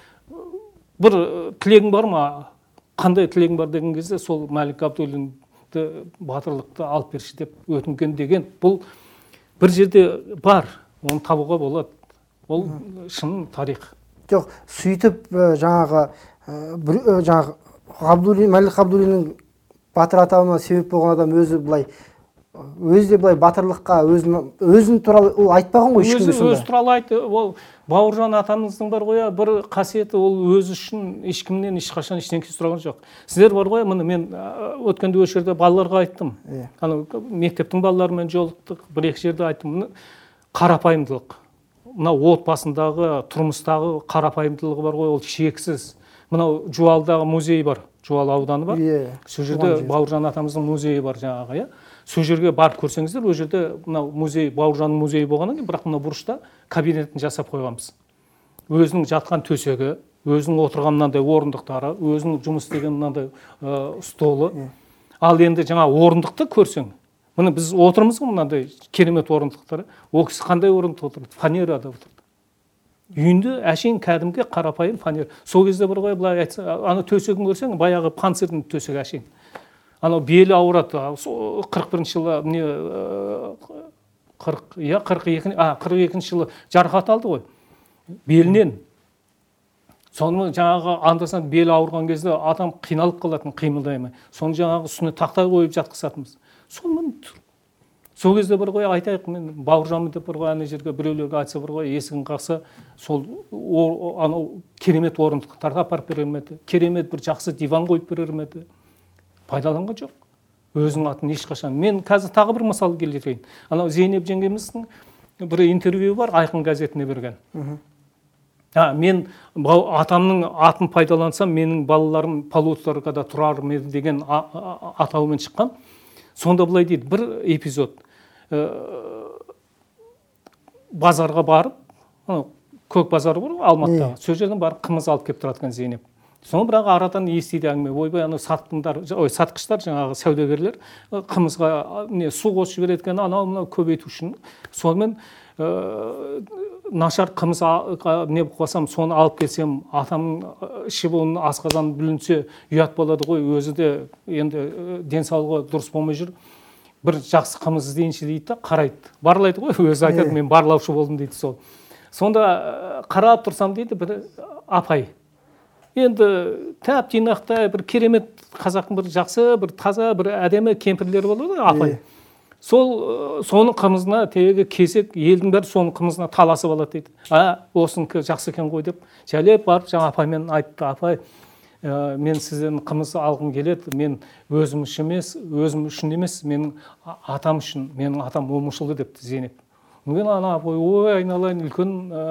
бір тілегің бар ма? Қандай тілегің бар деген кезде сол Мәлік Ғабдуллинді батырлықты алып берші деп өтінген деген. Бұл бір жерде бар, оны табуға болады. Ол шын тарих. Жоқ, сөйтіп жаңағы жаңағы Ғабдуллин, Мәлік Ғабдуллиннің батыр атауына себеп болған адам өзі былай өзі де былай батырлыққа өзін туралы ол айтпаған ғой ешкімге сонда. Өзі туралы айтты. Ол Бауыржан атамыздың бар ғой, бір қасиеті, ол өзі үшін ешкімнен ешқашан ештеңе сұраған жоқ. Сіздер бар ғой, міне мен өткенде осы жерде балаларға айттым. Анау мектептің балаларымен жолықтық, бір-екі жерде айттым. Қарапайымдылық. Мынау отбасындағы, тұрмыстағы қарапайымдылығы бар ғой, ол шексіз. Мынау Жуалдағы музей бар, Жуал ауданы бар. Сол жерде Бауыржан атамыздың музейі бар жаңағы, иә. Сол жерге барып көрсеңіздер, ол жерде мынау музей, Бауыржанның музейі болғаннан кейін, бірақ мына бұрышта кабинетін жасап қойғанбыз. Өзінің жатқан төсегі, өзінің отырған мынандай орындықтары, өзінің жұмыс істеген мынандай столы. Ал енді жаңа орындықты көрсең, міне біз отырмыз ғой мынандай керемет орындықтар. Ол кісі қандай орындықта отырды? Фанерада отырды. Үйінде әшейін кәдімгі қарапайым фанер. Сол кезде бір ғой, былай айтса, ана төсегін көрсең, баяғы панцирдің төсегі әшейін. Анау белі ауырады. қырық бірінші жылы не қырық, иә, қырық екі, а, қырық екінші жылы жарақат алды ғой. Белінен. Соны жаңағы андасынан белі ауырған кезде адам қиналып қалатын, қимылдай алмай. Соны жаңағы үстіне тақтай қойып жатқызатынбыз. Соны сол кезде бір ғой айтайық, мен Бауыржанмын деп бір ғой ана жерге біреулерге айтса бір ғой есігін қақса, сол анау керемет орындықтарды апарып берер ме еді? Керемет бір жақсы диван қойып берер ме еді? Пайдаланған жоқ. Өзінің атын ешқашан. Мен қазір тағы бір мысал келтірейін. Анау Зейнеп жеңгеміздің бір интервью бар, Айқын газетіне берген. А, мен атамның атын пайдалансам, менің балаларым Полуторкада тұрар еді деген атаумен шыққан. Сонда былай дейді, бір эпизод. Базарға барып, көк базар бар, Алматыда. Сол жерден барып қымыз алып келіп тұратқан Зейнеп. Соны бірақ арадан естиді әңгіме. Ойбай, ана сатқындар, ой, сатқыштар, жаңағы саудагерлер қымызға не су қосып жібереді екен, анау мынау көбейту үшін. Сонымен нашар қымыз не қосам, соны алып келсем, атамның ішіп оның асқазаны бүлінсе, ұят болады ғой, өзі де енді денсаулығы дұрыс болмай жүр. Бір жақсы қымыз іздейінші дейді да, қарайды. Барлайды ғой, өзі айтады, мен барлаушы болдым дейді сол. Сонда қарап тұрсам дейді, бір апай. енді тәп жинақтай бір керемет қазақтың бір жақсы бір таза бір әдемі кемпірлері болады ғой, апай. Сол соның қымызына тегі кесек елдің бәрі соның қымызына таласып алады дейді. А, осынікі жақсы екен ғой деп жәлеп барып жаңа апаймен айтты, апай, мен сізден қымыз алғым келеді, мен өзім үшін емес, өзім үшін емес, менің атам үшін, менің атам момышұлы депті Зейнеп. Мен ана апай, ой айналайын, үлкен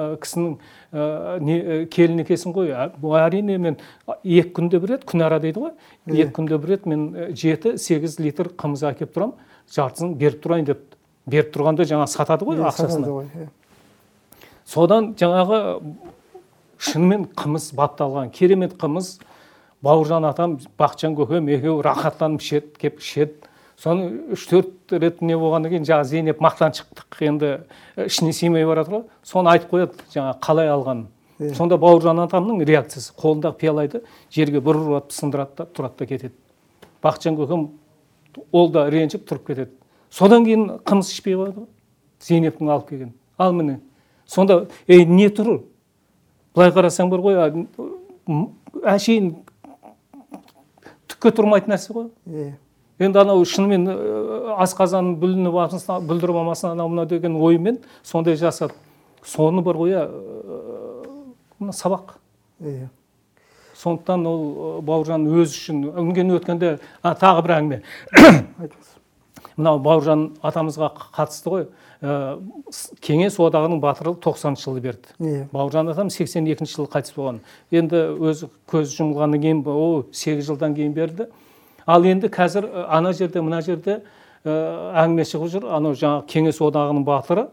үлкен келін екесің ғой. Әрине мен екі күнде бір рет, күнара дейді ғой, екі күнде бір рет мен жеті сегіз литр қымыз әкеп тұрам, жартысын беріп тұрайын деп. Беріп тұрғанда жаңа сатады ғой ақшасына. Содан жаңағы шынымен қымыз бапталған, керемет қымыз. Бауыржан атам, Бақытжан көкем екеуі рахаттанып ішеді, кеп ішеді. Соны үш төрт рет не болғаннан кейін жаңа Зейнеп мақтан шықтық, енді ішіне сыймай барады ғой. Соны айтып қояды, жаңа қалай алғанын. Сонда Бауыржан атамның реакциясы, қолындағы пиалайды жерге бір ұрып сындырады да тұрады да кетеді. Бақытжан көкем ол да ренжіп тұрып кетеді. Содан кейін қымыз ішпей қояды ғой. Зейнептің алып келген. Ал міне. Сонда ей не тұр? Былай қарасаң бар ғой, әшейін түкке тұрмайтын нәрсе ғой. Енді анау шынымен асқазанын бүлініп алсын, бүлдіріп алмасын анау мына деген оймен сондай жасады. Соны бар ғой, сабақ. Сондықтан ол Бауыржан өз үшін үнген өткенде тағы бір әңгіме. Мынау Бауыржан атамызға қатысты ғой. Кеңес одағының батыры тоқсаныншы жылы берді. Бауыржан атам сексен екінші жылы қайтыс болған. Енді өз көз жұмылғаннан кейін о сегіз жылдан кейін берді. Ал енді қазір ана жерде, мына жерде әңгіме шығып жүр. Анау жаңа Кеңес одағының батыры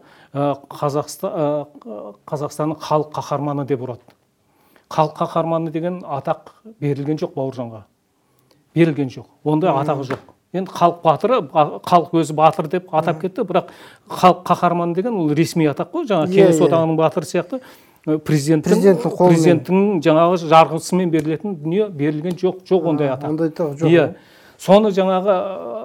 Қазақстанның халық қаһарманы деп ұрады. Халық қаһарманы деген атақ берілген жоқ Бауыржанға. Берілген жоқ. Ондай атағы жоқ. Енді халық батыры, халық өзі батыр деп атап кетті, бірақ халық қаһарманы деген ол ресми атақ қой. Жаңа Кеңес одағының батыры сияқты президенттің президенттің жаңағы жарғысымен берілетін дүние берілген жоқ, жоқ ондай атақ. Ондай атақ жоқ. Иә. Соны жаңағы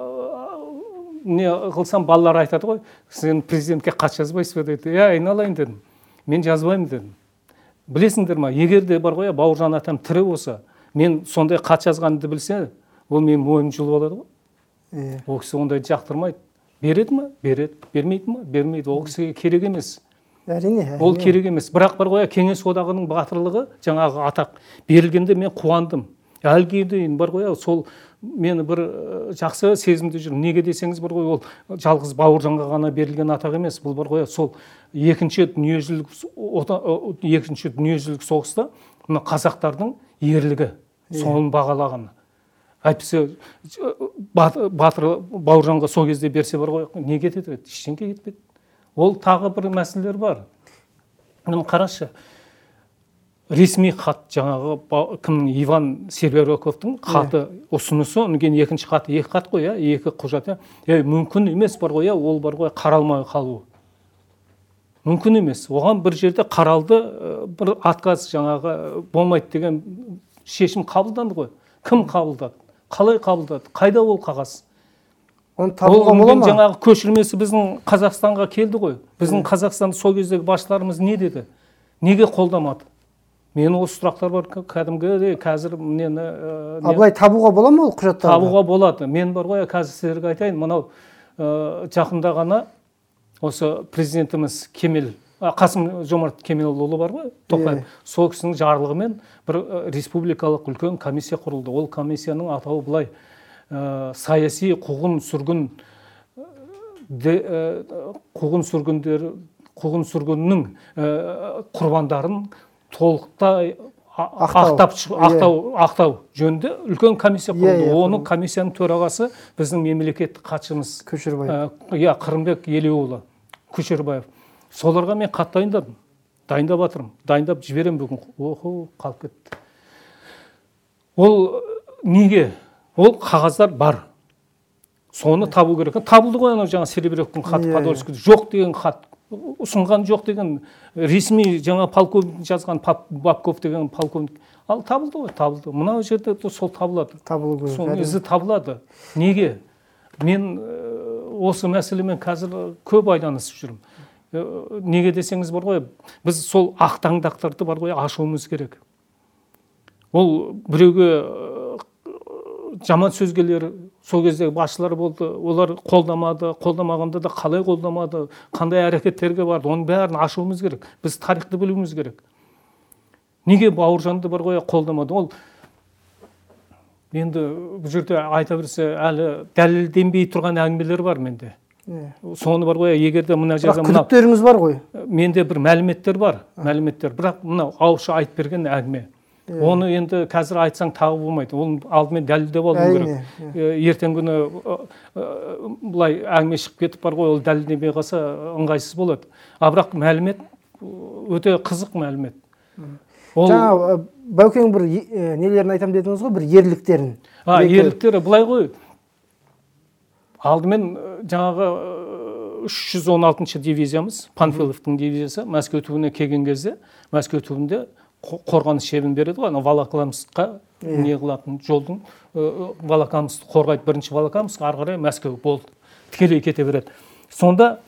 не қылсам балалар айтады ғой, сен президентке хат жазбайсыз ба дейді. Иә, айналайын дедім. Мен жазбаймын дедім. Білесіңдер ма, егер де бар ғой, Бауыржан атам тірі болса, мен сондай хат жазғанымды білсе, ол менің мойным жылып алады ғой. Ол кісі ондайды жақтырмайды. Береді ма? Береді. Бермейді ма? Бермейді. Ол кісіге керек емес. Әрине. Ол керек емес. Бірақ бар ғой, Кеңес одағының батырлығы жаңағы атақ берілгенде мен қуандым. Әліге дейін бар ғой, сол мені бір жақсы сезімде жүр. Неге десеңіз бар ғой, ол жалғыз Бауыржанға ғана берілген атақ емес. Бұл бар ғой, сол екінші дүниежүзілік екінші дүниежүзілік соғыста мына қазақтардың ерлігі соны бағалаған. Әйтпесе батыр Бауыржанға сол кезде берсе бар ғой, не кетеді? Ештеңе кетпеді. Ол тағы бір мәселелер бар. Міне қарашы, ресми хат жаңағы кімнің Иван Сервероковтың хаты ұсынысы, онымен екінші хаты, екі хат қой, екі құжат. Е, мүмкін емес бар ғой, ол бар ғой, қаралмай қалуы. Мүмкін емес. Оған бір жерде қаралды, бір отказ жаңағы болмайды деген шешім қабылданды ғой. Кім қабылдады? Қалай қабылдады? Қайда ол қағаз? Оны табуға бола ма? Жаңағы көшірмесі біздің Қазақстанға келді ғой. Біздің Қазақстанды сол кездегі басшыларымыз не деді? Неге қолдамады? Мен осы сұрақтар бар, кәдімгі қазір мені Абылай табуға бола ма ол құжаттарды? Табуға болады. Мен бар ғой, қазір сіздерге айтайын, мынау жақында ғана осы президентіміз Кемел Қасым Жомарт Кемелұлы бар ғой, Тоқаев. Сол кісінің жарлығымен бір республикалық үлкен комиссия құрылды. Ол комиссияның атауы былай: саяси қуғын сүргін қуғын сүргіндер қуғын сүргіннің құрбандарын толықтай ақтау ақтау жөнінде үлкен комиссия құрылды. Оның комиссияның төрағасы біздің мемлекеттік хатшымыз Көшербаев. Иә, Қырымбек Елеуұлы Көшербаев. Соларға мен хат дайындадым. Дайындап жатырмын. Дайындап жіберем бүгін. Охо, қалып кетті. Ол неге? Ол қағаздар бар. Соны табу керек. Табылды ғой, анау жаңа Серебряковтың хаты, Подольский жоқ деген хат, ұсынған жоқ деген ресми жаңа полковник жазған, Бабков деген полковник. Ал табылды ғой, табылды. Мынау жерде сол табылады. Табылу керек. Сол ізі табылады. Неге? Мен осы мәселемен қазір көп айланысып жүрмін. Неге десеңіз бар ғой, біз сол ақтаңдақтарды бар ғой, ашуымыз керек. ол біреуге жаман сөз келер, сол кездегі басшылар болды, олар қолдамады, қолдамағанда да қалай қолдамады, қандай әрекеттерге барды, оның бәрін ашуымыз керек. Біз тарихты білуіміз керек. Неге Бауыржанды бар ғой қолдамады? Ол енді бұл жерде айта берсе әлі дәлелденбей тұрған әңгімелер бар менде. Соны бар ғой, егер де мына жерде мына күдіктеріңіз бар ғой. Менде бір мәліметтер бар, мәліметтер. Бірақ мына ауызша айтып берген әңгіме. Оны енді қазір айтсаң тағы болмайды. Ол алдымен дәлелдеп алу керек. Ертең күні бұлай әңгіме шығып кетіп бар ғой, ол дәлелденбей қалса ыңғайсыз болады. А бірақ мәлімет өте қызық мәлімет. Жаңа Баукең бір нелерін айтам дедіңіз ғой, бір ерліктерін. А, ерліктері былай ғой. Алдымен жаңағы үш жүз он алтыншы дивизиямыз, Панфиловтың дивизиясы Мәскеу түбіне келген кезде, Мәскеу түбінде қорғаныс шебін береді ғой, Волоколамскқа не қылатын жолдың Волоколамск қорғайды, бірінші Волоколамск, ары қарай Мәскеу болды, тікелей кете береді. Сонда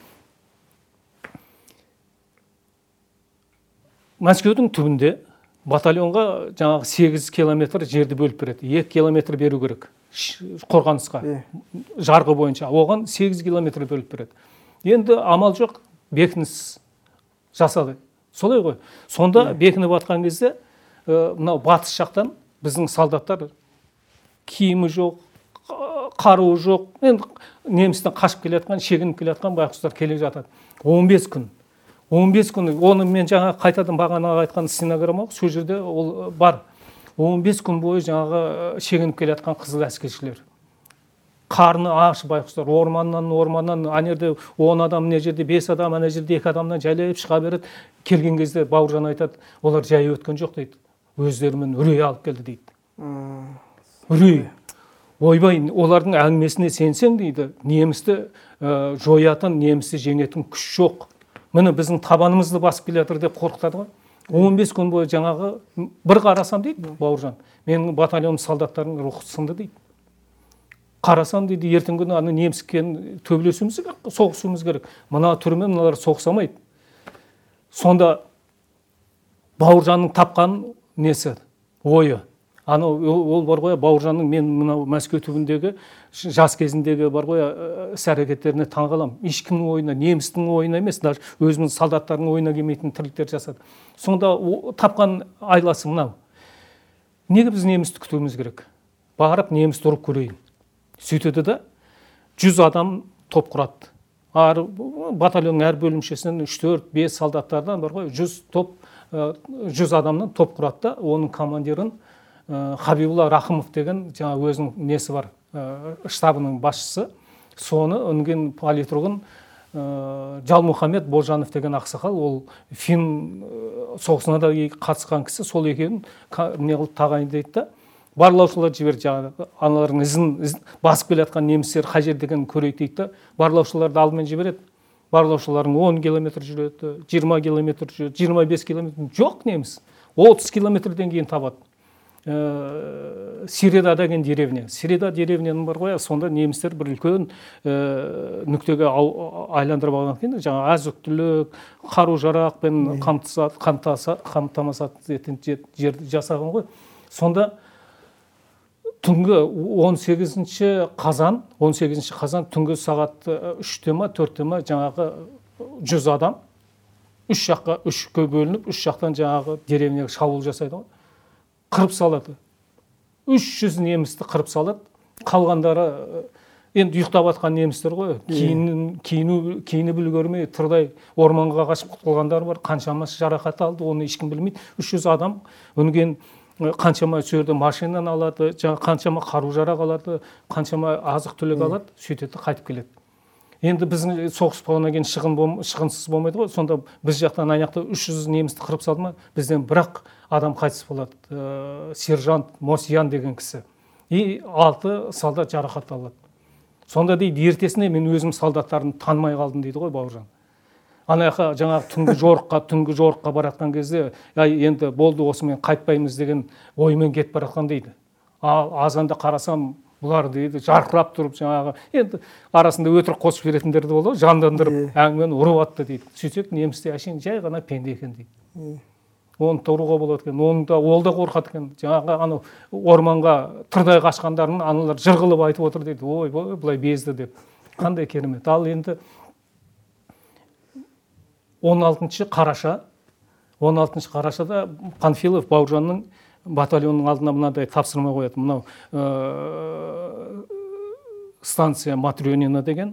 Мәскеудің түбінде батальонға жаңағы сегіз километр жерді бөліп береді, екі километр беру керек қорғанысқа, жарғы бойынша, оған сегіз километр бөліп береді. Енді амал жоқ, бекініс жасады. Солай ғой. Сонда бекініп атқан кезде, мынау батыс жақтан біздің солдаттар киімі жоқ, қаруы жоқ, енді немістен қашып келе жатқан, шегініп келе жатқан байқұстар келе жатады. он бес күн. он бес күн, оны мен жаңа қайтадан бағана айтқан стенограмма, сол жерде ол бар. он бес күн бойы жаңағы шегініп келе жатқан қызыл әскершілер. Қарны аш байқұстар, орманнан, орманнан, ана жерде он адам, мына жерде бес адам, ана жерде екі адамнан жайлап шыға береді. Келген кезде Бауыржан айтады, олар жай өткен жоқ дейді. Өздерімен үрей алып келді дейді. Үрей. Ойбай, олардың әңгімесіне сенсең дейді, немісті жоятын, немісті жеңетін күш жоқ. Міне біздің табанымызды басып келе жатыр деп қорқытады ғой. он бес күн бойы жаңағы бір қарасам дейді Бауыржан, менің батальон солдаттарының рухы сынды дейді. Қарасам дейді, ертең күні аны неміскен төбелесуіміз керек, соғысуымыз керек. Мына түрімен мыналар соғысамайды. Сонда Бауыржанның тапқан несі, ойы. Аны ол бар ғой, Бауыржанның мен мына Мәскеу түбіндегі жас кезіндегі бар ғой, іс-әрекеттеріне таңғаламын. Ешкімнің ойына, немістің ойына емес, даже өзіміз солдаттардың ойына келмейтін тірліктер жасады. Сонда тапқан айласы мынау. Неге біз немісті күтуіміз керек? Барып немісті ұрып көрейін. Сөйтеді де жүз адам топ құрады. Батальонның әр бөлімшесінен үш төрт бес солдаттардан бар ғой, жүз топ, жүз адамнан топ құрады да, оның командирін Хабибулла Рахымов деген жаңа өзінің несі бар, штабының басшысы, соны өнген политругын Жалмұхамед Божанов деген ақсақал, ол фин соғысына да қатысқан кісі, сол екеуін не қылып тағайындайды да, барлаушылар жіберді, жаңағы аналардың ізін басып келе жатқан немістер қай жерде екенін көрейік дейді да, барлаушыларды алдымен жібереді. Барлаушылардың он километр жүреді, жиырма километр жүреді, жиырма бес километр жоқ неміс, отыз километрден кейін табады. Сиреда деген деревня. Сиреда деревняның бар ғой, сонда немістер бір үлкен нүктеге айландырып алған екен, жаңа азық-түлік, қару-жарақпен қамтамасыз ететін жерді жасаған ғой. Сонда түнгі он сегізінші қазан, он сегізінші қазан түнгі сағат үште ма, төртте ма жаңағы жүз адам үш жаққа, үшке бөлініп, үш жақтан жаңағы деревняға шабуыл жасайды ғой. Қырып салады. үш жүз немісті қырып салады. Қалғандары енді ұйықтап атқан немістер ғой. Киініп үлгермей тырдай орманға қашып құтылғандар бар. Қаншамасы жарақат алды, оны ешкім білмейді. үш жүз адам өнген қаншама жерде машинаны алады, қаншама қару-жарақ алады, қаншама азық-түлік алады, сөйтеді, қайтып келеді. Енді біздің соғыс болғаннан кейін шығынсыз болмайды ғой. Сонда біз жақтан аяқта үш жүз немісті қырып салды ма, бізден бірақ адам қайтыс болады. Сержант Мосиян деген кісі. И алты солдат жарақат алады. Сонда дейді, ертесіне мен өзім солдаттарын танымай қалдым дейді ғой Бауыржан. Анаяқа жаңағы түнгі жорыққа, түнгі жорыққа баратқан кезде, енді болды осымен қайтпаймыз деген оймен кетіп баратқан дейді. Ал азанда қарасам, бұлар дейді, жарқырап тұрып жаңағы, енді арасында өтірік қосып беретіндер де болды, жандандырып әңгімені ұрып атты дейді. Сөйтсек немісте әшейін жай ғана пенде екен дейді. оны тұруға болады екен, оны да ол да қорқады екен. Жаңағы анау орманға тырдай қашқандарын аналар жырғылып айтып отыр дейді. Ой, былай безді деп. Қандай керемет. Ал енді он алтыншы қараша, он алтыншы қарашада Панфилов Бауыржанның батальонның алдына мынадай тапсырма қояды. Мынау станция Матрёнина деген.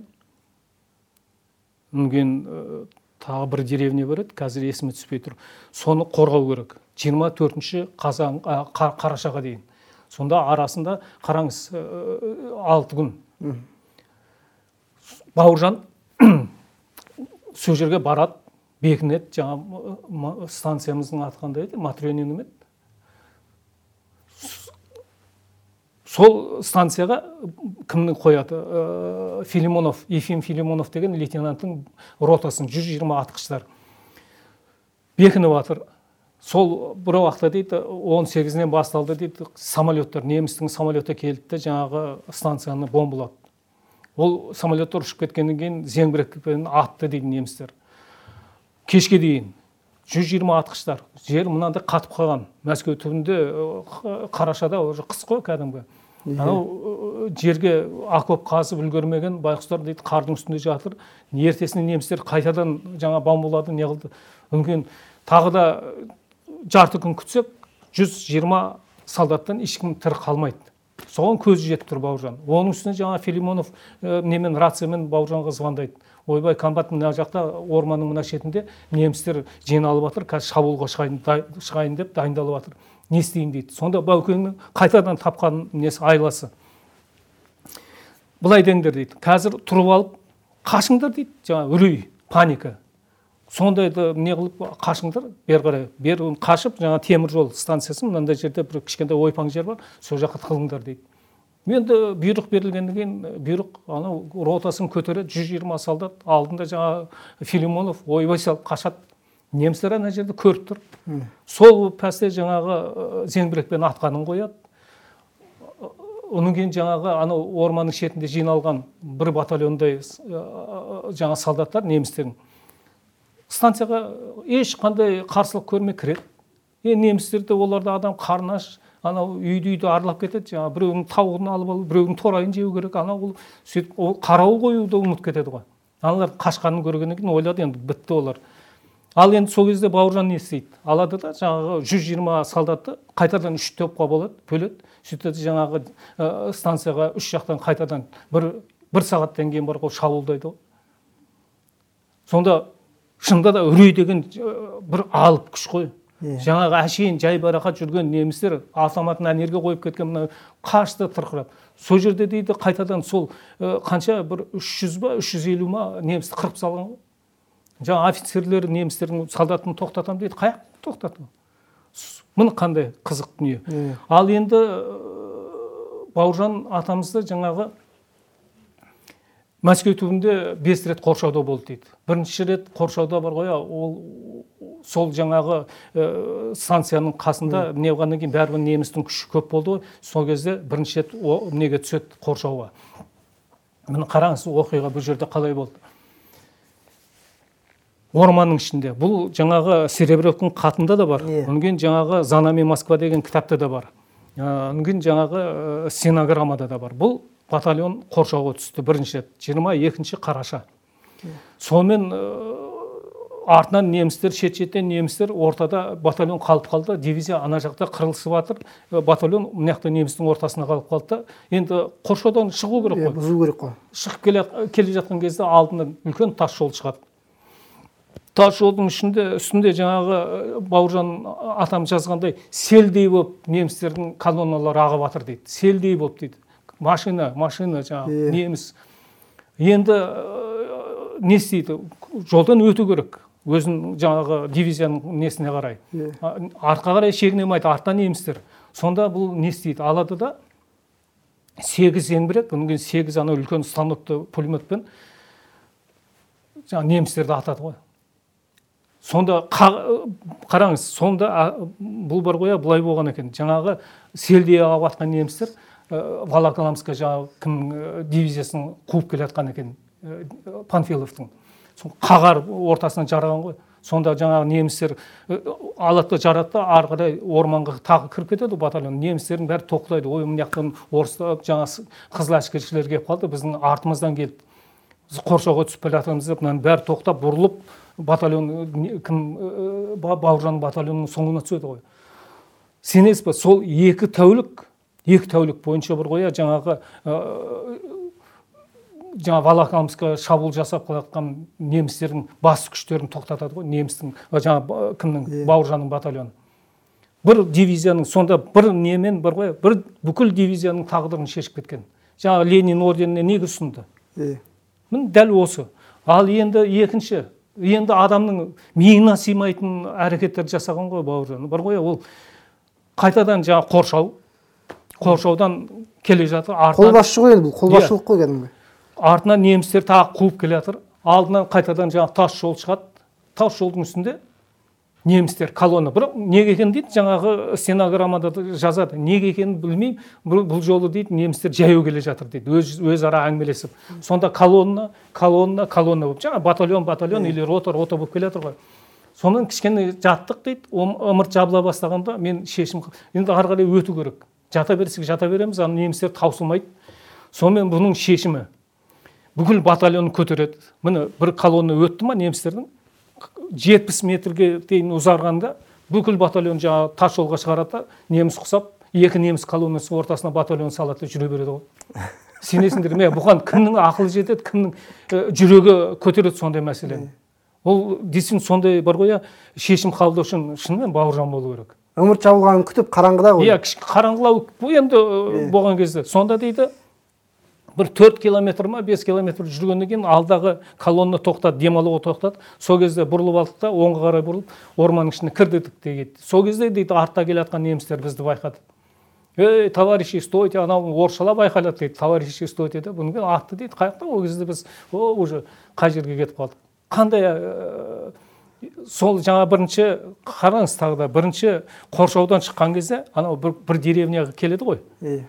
Үнген тағы бір деревня бар еді, қазір есіме түспей тұр. Соны қорғау керек. жиырма төртінші қазан қарашаға дейін. Сонда арасында қараңыз алты күн. Бауыржан сол жерге барады, бекінеді, жаңа станциямыздың аты қандай еді, Матрёнина еді. Сол станцияға кімнің қояды? Филимонов, Ефим Филимонов деген лейтенанттың ротасын, жүз жиырма атқыштар бекініп жатыр. Сол бір уақытта дейді, он сегізінен басталды дейді, самолеттар, немістің самолеті келді, жаңағы станцияны бомбалады. Ол самолеттар ұшып кеткеннен кейін зеңбірекпен атты дейді немістер. Кешке дейін жүз жиырма атқыштар, жер мынандай қатып қалған. Мәскеу түбінде қарашада уже қыс қой кәдімгі. Анау жерге окоп қазып үлгермеген байқұстар дейді, қардың үстінде жатыр. Ертесіне немістер қайтадан жаңа бомбалады, не қылды. Үнген тағы да жарты күн күтсек, жүз жиырма солдаттан ешкім тірі қалмайды. Соған көзі жетіп тұр Бауыржан. Оның үстіне жаңа Филимонов немен рациямен Бауыржанға звондайды. Ойбай, комбат мына жақта орманның мына шетінде немістер жиналып жатыр, қазір шабуылға шығайын деп дайындалып жатыр. Не істейін дейді. Сонда Баукеңнің қайтадан тапқан несі айласы. Бұлай деңдер дейді. Қазір тұрып алып қашыңдар дейді. Жаңа үрей, паника. Сондайды не қылып қашыңдар, бер қарай. Бер қашып, жаңа темір жол станциясы, мынандай жерде бір кішкентай ойпаң жер бар, сол жаққа тығылыңдар дейді. Енді бұйрық берілгеннен кейін бұйрық анау ротасын көтереді, жүз жиырма солдат, алдында жаңа Филимонов ойбай салып қашады. Немістер ана жерде көріп тұр. Сол пәсте жаңағы зеңбірекпен атқанын қояды. Оның кейін жаңағы анау орманның шетінде жиналған бір батальондай жаңа солдаттар немістердің станцияға ешқандай қарсылық көрмей кіреді. Немістерді оларда адам қарнаш, анау үйді-үйді аралап кетеді, жаңа біреудің тауығын алып алып, біреудің торайын жеу керек, анау сөйтіп қарауыл қоюды ұмытып кетеді ғой. Аналар қашқанын көргеннен кейін ойлады, енді бітті олар. Ал енді сол кезде Бауыржан не істейді? Алады да жаңағы жүз жиырма солдатты қайтадан үш топқа болады, бөледі. Сөйтеді жаңағы станцияға үш жақтан қайтадан бір бір сағаттан кейін бар ғой шабуылдайды ғой. Сонда шынында да үрей деген бір алып күш қой. Жаңағы әшейін жай барақат жүрген немістер автоматын әнерге қойып кеткен мына қашты тырқырап. Сол жерде дейді қайтадан сол қанша бір үш жүз ба үш жүз елу ма немісті қырып салған ғой. Жаңа офицерлер немістердің солдатын тоқтатам дейді, қаяқ тоқтату. Міне қандай қызық дүние. Ал енді Бауыржан атамызды жаңағы Мәскеу түбінде бес рет қоршауда болды дейді. Бірінші рет қоршауда бар ғой, ол сол жаңағы станцияның қасында не болғаннан кейін бәрібір немістің күші көп болды ғой. Сол кезде бірінші рет неге түседі қоршауға. Міне қараңыз оқиға бұл жерде қалай болды. Орманның ішінде. Бұл жаңағы Серебревтің хатында да бар. Онген жаңағы «Занами Москва» деген кітапта да бар. Онген жаңағы стенограммада да бар. Бұл батальон қоршауға түсті бірінші рет, жиырма екінші қараша. Сонымен артынан немістер, шет-шеттен немістер, ортада батальон қалып қалды, дивизия ана жақта қырылысып жатыр, батальон мынаяқта немістің ортасына қалып қалды. Енді қоршаудан шығу керек қой. Бұзу керек қой. Шығып келе жатқан кезде алдынан үлкен тас жол шығады. Тас жолдың үстінде жаңағы Бауыржан атам жазғандай селдей болып немістердің колонналары ағып жатыр дейді. Селдей болып дейді. Машина, машина жаңағы неміс. Енді не істейді? Жолдан өту керек. Өзін жаңағы дивизияның несіне қарай. Артқа қарай шегінемайды, артта немістер. Сонда бұл не істейді? Алады да сегіз зеңбірек, онымен сегіз ана үлкен станокты пулеметпен жаңағы немістерді атады ғой. Сонда қараңыз, сонда бұл бар ғой, бұлай болған екен. Жаңағы селдей ағып атқан немістер Волоколамская жаңағы кім дивизиясын қуып келе жатқан екен, Панфиловтың. Қағар ортасынан жараған ғой. сонда жаңағы немістер алады жарады да ары қарай орманға тағы кіріп кетеді батальон. Немістердің бәрі тоқтайды. Ой, мына жақтан орыстар жаңағы қызыл әскершілер келіп қалды, біздің артымыздан келді. Біз қоршауға түсіп келе жатырмыз деп, мынаның бәрі тоқтап бұрылып батальон кім Бауыржан батальонының соңына түседі ғой. Сенесіз бе, сол екі тәулік, екі тәулік бойынша бір қоя жаңағы жаңа Волоколамскқа шабуыл жасап қалатқан немістердің бас күштерін тоқтатады ғой, немістің жаңа кімнің Бауыржанның батальоны. Бір дивизияның сонда бір немен бір қоя, бір бүкіл дивизияның тағдырын шешіп кеткен. Жаңа Ленин орденіне неге ұсынды? Мін дәл осы. Ал енді екінші, енді адамның миына сыймайтын әрекеттер жасаған ғой Бауыржан. Бір қоя, ол қайтадан жаңа қоршау, қоршаудан келе жатыр. Қолбасшы ғой енді, бұл қолбасшылық қой кәдімгі. Артынан немістер тағы қуып келе жатыр. Алдынан қайтадан жаңа тас жол шығады. Тас жолдың үстінде немістер колонна. Бірақ неге екенін дейді, жаңағы стенограммада жазады. Неге екенін білмеймін. Бұл жолы дейді, немістер жаяу келе жатыр дейді. Өз өзара әңгімелесіп. Сонда колонна, колонна, колонна болып, жаңа батальон, батальон или рота, рота болып келе жатыр ғой. Сонан кішкене жаттық дейді. Ымырт жабыла бастағанда мен шешім, енді ары қарай өту керек. Жата берсек жата береміз, ана немістер таусылмайды. Сонымен бұның шешімі бүкіл батальон көтереді. Міне бір колонна өтті ма немістердің, жетпіс метрге дейін ұзарғанда бүкіл батальон жаңа тас жолға шығарады, неміс құсап, екі неміс колоннасы ортасына батальон салады, жүре береді ғой. Сенесіңдер ме? Бұған кімнің ақылы жетеді, кімнің жүрегі көтереді сондай мәселені. Ол дейсің сондай бар ғой, шешім қабылдау үшін шынымен Бауыржан болу керек. Ымырт жабылғанын күтіп қараңғыда ғой. Иә, қараңғылау енді болған кезде. Сонда дейді, бір төрт километр ма, бес километр жүргеннен кейін алдағы колонна тоқтады, демалуға тоқтады. Сол кезде бұрылып алдық та, оңға қарай бұрылып, орманның ішіне кірдік дейді. Сол кезде дейді, артта келе жатқан немістер бізді байқады. Ей, товарищи, стойте, анау орысшалап айқайлады дейді. Товарищи, стойте деп, бұны атты дейді. Қаяқта ол кезде біз уже қай жерге кетіп қалдық. Қандай сол жаңа бірінші қараңыз тағы да бірінші қоршаудан шыққан кезде анау бір, бір деревняға келеді ғой.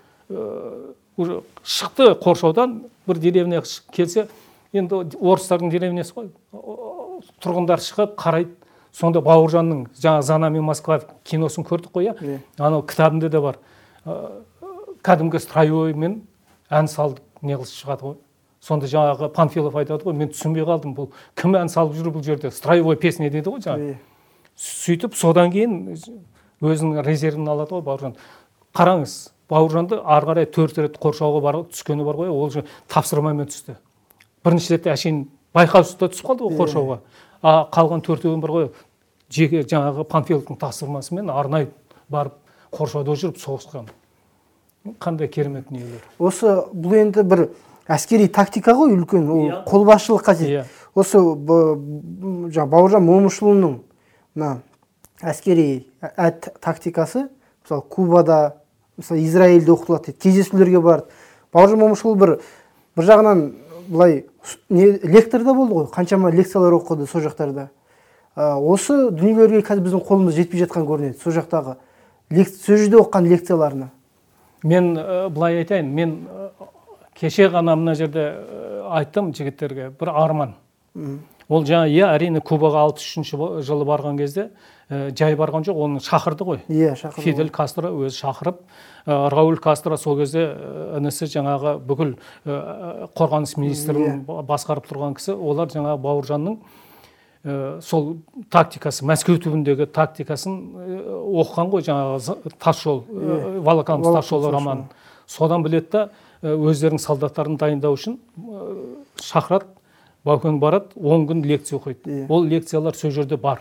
Уже шықты қоршаудан бір деревняға келсе, енді орыстардың деревнясы ғой. Тұрғындар шығып қарайды. Сонда Бауыржанның жаңа «Зана мен Москва» киносын көрдік қой, иә. Анау кітабында да бар. Кәдімгі строевоймен ән салдық, не қылып шығады ғой. Сонда жаңағы Панфилов айтады ғой, мен түсінбей қалдым, бұл кім ән салып жүр бұл жерде? Строевой песня дейді ғой жаңа. Сөйтіп содан кейін өзінің резервін алады ғой Бауыржан. Қараңыз, Бауыржанды ары қарай төрт рет қоршауға бар түскені бар ғой, ол тапсырмамен түсті. Бірінші рет әшейін байқаусызда түсіп қалды ғой қоршауға. А қалған төртеуін бар ғой, жеке жаңағы Панфиловтың тапсырмасымен арнайы барып қоршауда жүріп соғысқан. Қандай керемет дүниелер. Осы бұл енді бір әскери тактика ғой, үлкен, ол қолбасшылық қажет. Осы жаңа Бауыржан Момышұлының мына әскери тактикасы, мысалы Кубада, мысалы Израильде оқытылады дейді, кездесулерге барды. Бауыржан Момышұлы бір бір жағынан былай лектор да болды ғой, қаншама лекциялар оқыды сол жақтарда. Осы дүниелерге қазір біздің қолымыз жетпей жатқан көрінеді, сол жақтағы сол жерде оқыған лекцияларына. Мен былай айтайын, мен кеше ғана мына жерде айттым жігіттерге, бір арман. Ол жаңа, иә, әрине Кубаға алпыс үшінші жылы барған кезде жай барған жоқ, оны шақырды ғой. Иә, шақырды. Фидель Кастро өзі шақырып, Рауль Кастро сол кезде інісі жаңағы бүкіл қорғаныс министрін басқарып тұрған кісі, олар жаңағы Бауыржанның сол тактикасы, Мәскеу түбіндегі тактикасын оқыған ғой, жаңағы тас жол, Волоколамск тас жолы романын. Содан біледі да, өздерінің солдаттарын дайындау үшін шақырады, Баукең барады, он күн лекция оқиды. Ол лекциялар сол жерде бар.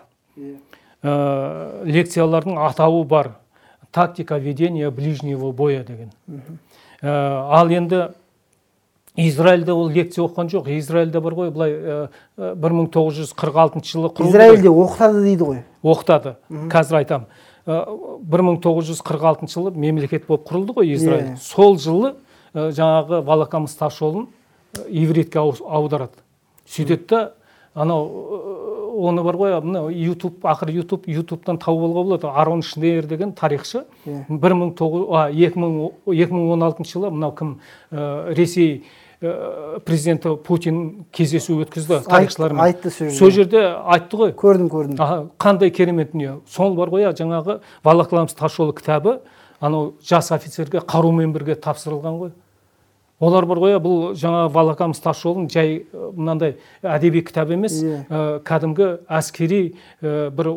Лекциялардың атауы бар. Тактика ведения ближнего боя деген. Ал енді Израильде ол лекция оқыған жоқ. Израильде бар ғой, былай бір мың тоғыз жүз қырық алтыншы жылы құрылды. Израильде оқытады дейді ғой. Оқытады. Қазір айтам. бір мың тоғыз жүз қырық алтыншы жылы мемлекет болып құрылды ғой Израиль. Сол жылы жаңағы Волоколамск тас жолын ивритке аударады. Сөйтеді да, анау оны бар ғой, мына YouTube, ақыр YouTube, YouTube-тан тауып алуға болады. Арон Шнейер деген тарихшы екі мың он алтыншы жылы мынау кім Ресей президенті Путин кездесу өткізді тарихшылармен. Айтты сол жерде. Сол жерде айтты ғой. Көрдім, көрдім. Қандай керемет дүние. Сол бар ғой, жаңағы Волоколамск тасжолы кітабы анау жас офицерге қарумен бірге тапсырылған ғой. Олар бар ғой, бұл жаңа Волоколамск тасжолын жай мынандай әдеби кітап емес, кәдімгі әскери бір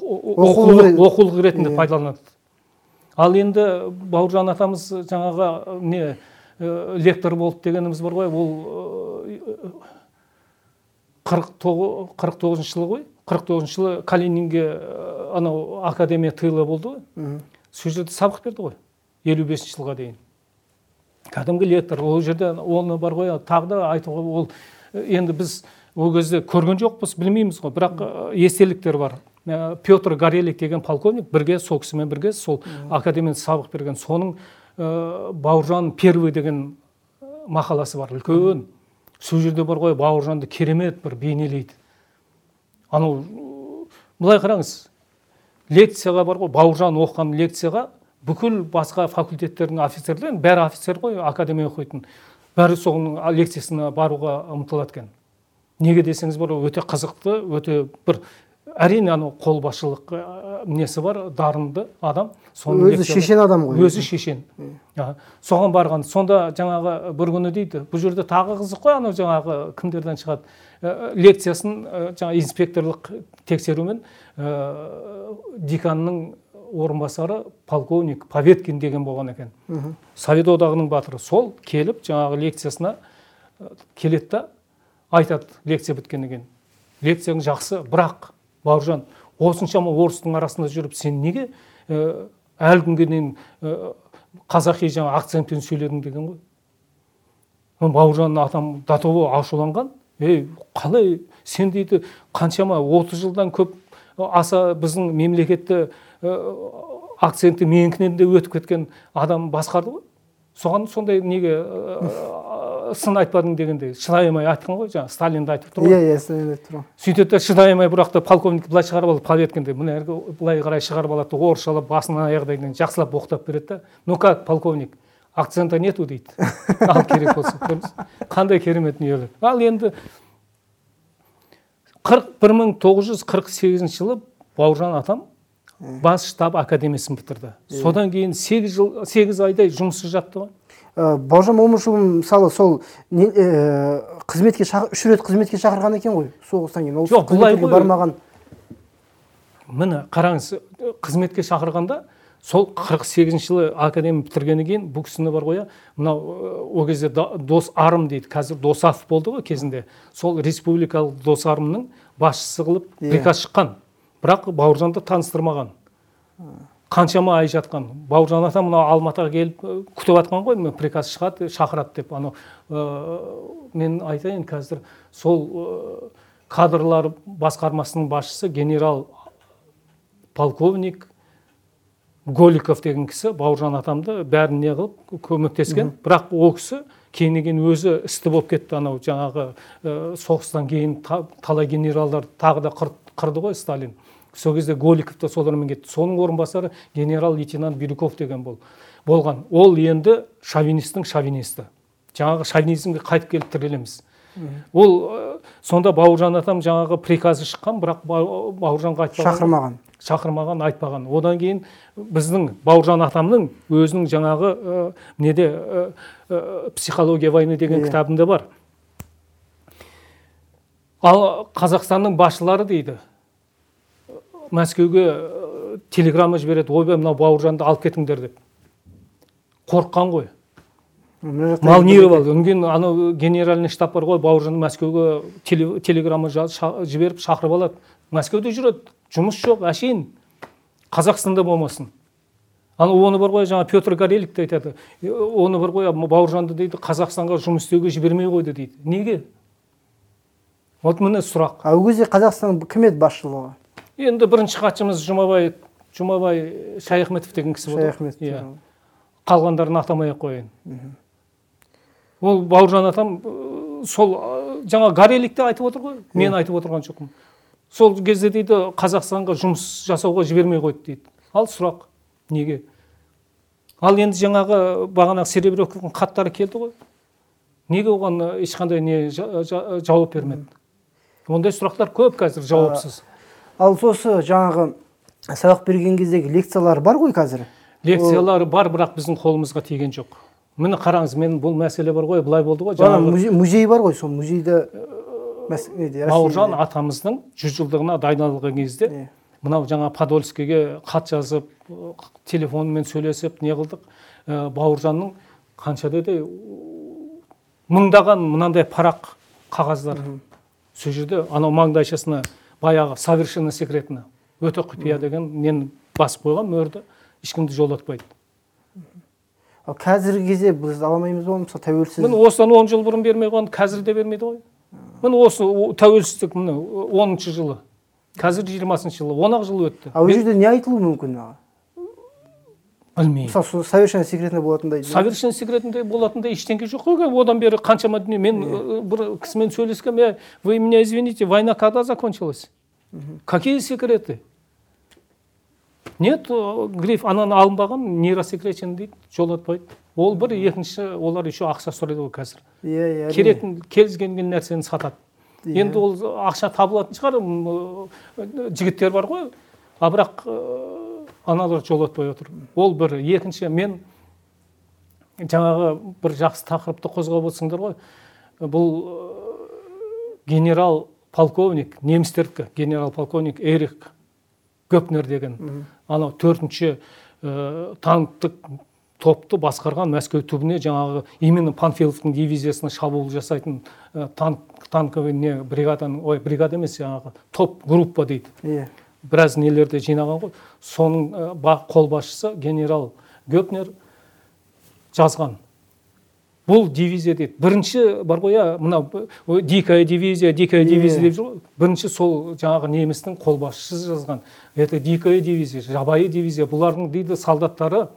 оқулық ретінде пайдаланады. Ал енді Бауыржан атамыз жаңағы не лектор болды дегеніміз бар ғой, ол қырық тоғызыншы жылы ғой, қырық тоғызыншы жылы Калининге анау академия тыйлы болды ғой. Сол жерде сабақ берді ғой, елу бесінші жылға дейін. Кәдімгі лектор, ол жерде оны бар ғой, тағы да айтуға, ол енді біз ол кезде көрген жоқпыз, білмейміз ғой, бірақ естеліктер бар. Петр Горелик деген полковник бірге, сол кісімен бірге, сол академияда сабақ берген. Соның Бауыржан первый деген мақаласы бар, үлкен. Сол жерде бар ғой, Бауыржанды керемет бір бейнелейді. Анау, былай қараңыз, лекцияға бар ғой, Бауыржан оқыған лекцияға бүкіл басқа факультеттердің офицерлері, бәрі офицер ғой, академия оқитын, бәрі соның лекциясына баруға ұмтылады екен. Неге десеңіз бар, өте қызықты, өте бір әрине анау қолбасшылық несі бар, дарынды адам. Өзі шешен адам ғой. Өзі шешен. Соған барған. Сонда жаңағы бір күні дейді, бұл жерде тағы қызық қой, анау жаңағы кімдерден шығады. Лекциясын жаңа инспекторлық тексерумен деканның орынбасары полковник Поветкин деген болған екен. Совет одағының батыры. Сол келіп жаңағы лекциясына келеді да айтады, лекция біткеннен кейін. Лекцияң жақсы, бірақ Бауыржан, осыншама орыстың арасында жүріп, сен неге әлі күнге дейін қазақи жаңа акцентпен сөйледің деген ғой. Бауыржан атам датовы ашуланған. Ей, қалай сен дейді, қаншама отыз жылдан көп аса біздің мемлекетті акценті менікінен де өтіп кеткен адам басқарды ғой. Соған сондай неге сын айтпадың дегенде шыдаймай айтқан ғой, жаңа Сталинді айтып тұр ғой. Иә, иә, Сталинді айтып тұр. Сөйтеді щыдаймай бірақта полковник былай шығарып алып, Поветкинді мына әргі былай қарай шығарып алады, орысшалап басынан аяғына жақсылап оқытып береді да. Ну как, полковник, акцента нету дейді. Ал керек болса, қандай керемет дүниелер. Ал енді бір мың тоғыз жүз қырық сегізінші жылы Бауыржан атам бас штаб академиясын бітірді. Содан кейін сегіз айдай жұмыссыз жатты ғой. Бауыржан Момышұлы мысалы сол қызметке үш рет қызметке шақырған екен ғой, соғыстан кейін. Жоқ, бұлай бармаған. Міне, қараңыз, қызметке шақырғанда сол қырық сегізінші жылы академия бітіргеннен кейін бұл кісіні бар ғой, мынау о кезде дос арым дейді, қазір Досаф болды ғой кезінде. Сол республикалық дос арымның басшысы қылып приказ шыққан. Бірақ Бауыржанды таныстырмаған. Қаншама ай жатқан. Бауыржан атам мына Алматыға келіп күтіп атқан ғой, приказ шығады, шақырады деп. Аны мен айтайын, қазір сол кадрлар басқармасының басшысы генерал полковник Голиков деген кісі Бауыржан атамды бәрін не қылып көмектескен. Бірақ ол кісі кейіннен өзі істі болып кетті. Анау жаңағы соғыстан кейін талай генералдар тағы да қырды ғой Сталин. Сол кезде Голиков та солармен кетті. Соның орынбасары генерал-лейтенант Бирюков деген болған. Ол енді шовинистің шовинисті. Жаңағы шовинизмге қайтып келіп тірелеміз. Ол сонда Бауыржан атам жаңағы приказы шыққан, бірақ Бауыржанға айтпаған. Шақырмаған. Шақырмаған, айтпаған. Одан кейін біздің Бауыржан атамның өзінің жаңағы неде психология войны деген кітабында бар. Ал Қазақстанның басшылары дейді, Мәскеуге телеграмма жібереді, ойбай мынау Бауыржанды алып кетіңдер деп. Қорыққан ғой. Малниров, үнген анау генеральный штаб бар ғой, Бауыржанды Мәскеуге телеграмма жіберіп шақырып алады. Мәскеуде жүреді, жұмыс жоқ, әшейін. Қазақстанда болмасын. Оны бар ғой, жаңа Петр Горелик те айтады. Оны бар ғой, Бауыржанды дейді, Қазақстанға жұмыс істеуге жібермей қойды дейді. Неге? Вот міне сұрақ. А ол кезде Қазақстан кім еді басшылығы? Енді бірінші хатшымыз Жұмабай, Жұмабай Шайахметов деген кісі болды. Шайахметов. Қалғандарын атамай-ақ қояйын. Ол Бауыржан атам сол жаңа Гореликте айтып отыр ғой, мен айтып отырған жоқпын. Сол кезде дейді, Қазақстанға жұмыс жасауға жібермей қойды дейді. Ал сұрақ, неге? Ал енді жаңағы бағана Серебряковтың хаттары келді ғой. неге оған ешқандай не жауап бермеді? Ондай сұрақтар көп қазір жауапсыз. Ал сосы жаңағы сабақ берген кездегі лекциялар бар ғой қазір? Лекциялары бар, бірақ біздің қолымызға тиген жоқ. Міне қараңыз, мен бұл мәселе бар ғой, былай болды ғой. Жаңағы музей бар ғой, сол музейді Бауыржан атамыздың жүз жылдығына дайындалған кезде мынау жаңа Подольскийге хат жазып, телефонмен сөйлесіп, не қылдық. Бауыржанның қанша деді мыңдаған мынандай парақ қағаздар. Сол жерде анау маңдайшасына баяғы совершенно секретно өте құпия деген нені басып қойған мөрді, ешкімді жолатпайды. Қазіргі кезде біз аламаймыз ғой, мысалы тәуелсіз. Міне осыдан он жыл бұрын бермей қойған, қазір де бермейді ғой. Міне осы тәуелсіздік міне оныншы жылы. Қазір жиырмасыншы жылы, он ақ жыл өтті. А ол жерде не айтылуы мүмкін? Білмеймін. Мысалы совершенно секретно болатындай. Совершенно секретно болатындай ештеңе жоқ қой. Одан бері қаншама дүние. Мен бір кісімен сөйлескем, вы меня извините, война когда закончилась? Какие секреты? Нет, гриф ананы алынбаған, нейросекретен дейді, жолатпайды. Ол бір, екінші, олар еще ақша сұрайды ғой қазір. Керетін, келізген нәрсені сатады. Енді ол ақша табылатын шығар, жігіттер бар ғой, а бірақ аналар жолатпай отыр. Ол бір, екінші, мен жаңағы бір жақсы тақырыпты қозғап отырсыңдар ғой. Бұл генерал полковник, немістердікі, генерал полковник Эрих Гөпнер деген, анау төртінші танктық топты басқарған Мәскеу түбіне жаңағы именно Панфиловтың дивизиясына шабуыл жасайтын танковый не бригаданың, ой, бригада емес, жаңағы топ группа дейді. Біраз нелерді жинаған ғой. Соның қолбасшысы генерал Гөпнер жазған. Бұл дивизия дейді. Бірінші бар ғой, мына дикая дивизия, дикая дивизия деп жүр ғой. Бірінші сол жаңағы немістің қолбасшысы жазған. Это дикая дивизия, жабайы дивизия. Бұлардың дейді солдаттары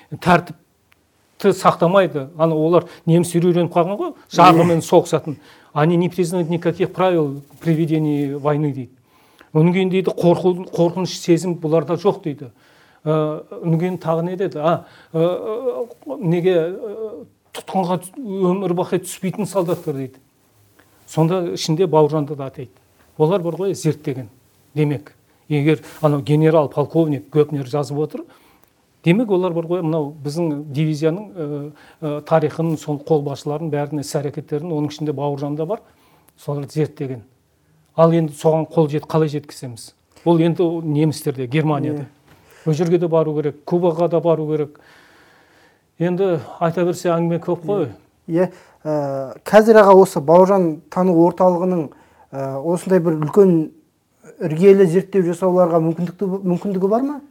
тәртіпті сақтамайды. Аны олар неміс үйреніп қалған ғой, жағымен соғысатын. Они не признают никаких правил при ведении войны дейді. Оның кейін дейді қорқыныш сезім бұларда жоқ дейді. Оның кейін тағы не деді? А, неге тұтқынға өмір бақи түспейтін солдаттар дейді. Сонда ішінде Бауыржанды да атайды. Олар бар ғой зерттеген. Демек, егер анау генерал полковник Гөпнер жазып отыр, демек олар бар ғой мынау біздің дивизияның тарихын, сол қолбасшыларын бәріне іс-әрекеттерін, оның ішінде Бауыржанда бар, солар зерттеген. Ал енді соған қол жет, қалай жеткіземіз? Ол енді немістерде, Германияда. Ол жерге де бару керек, Кубаға да бару керек. Енді айта берсе әңгіме көп қой. Е, қазір аға осы Бауыржан тану орталығының осындай бір үлкен іргелі зерттеу жасауларға мүмкіндігі бар ма?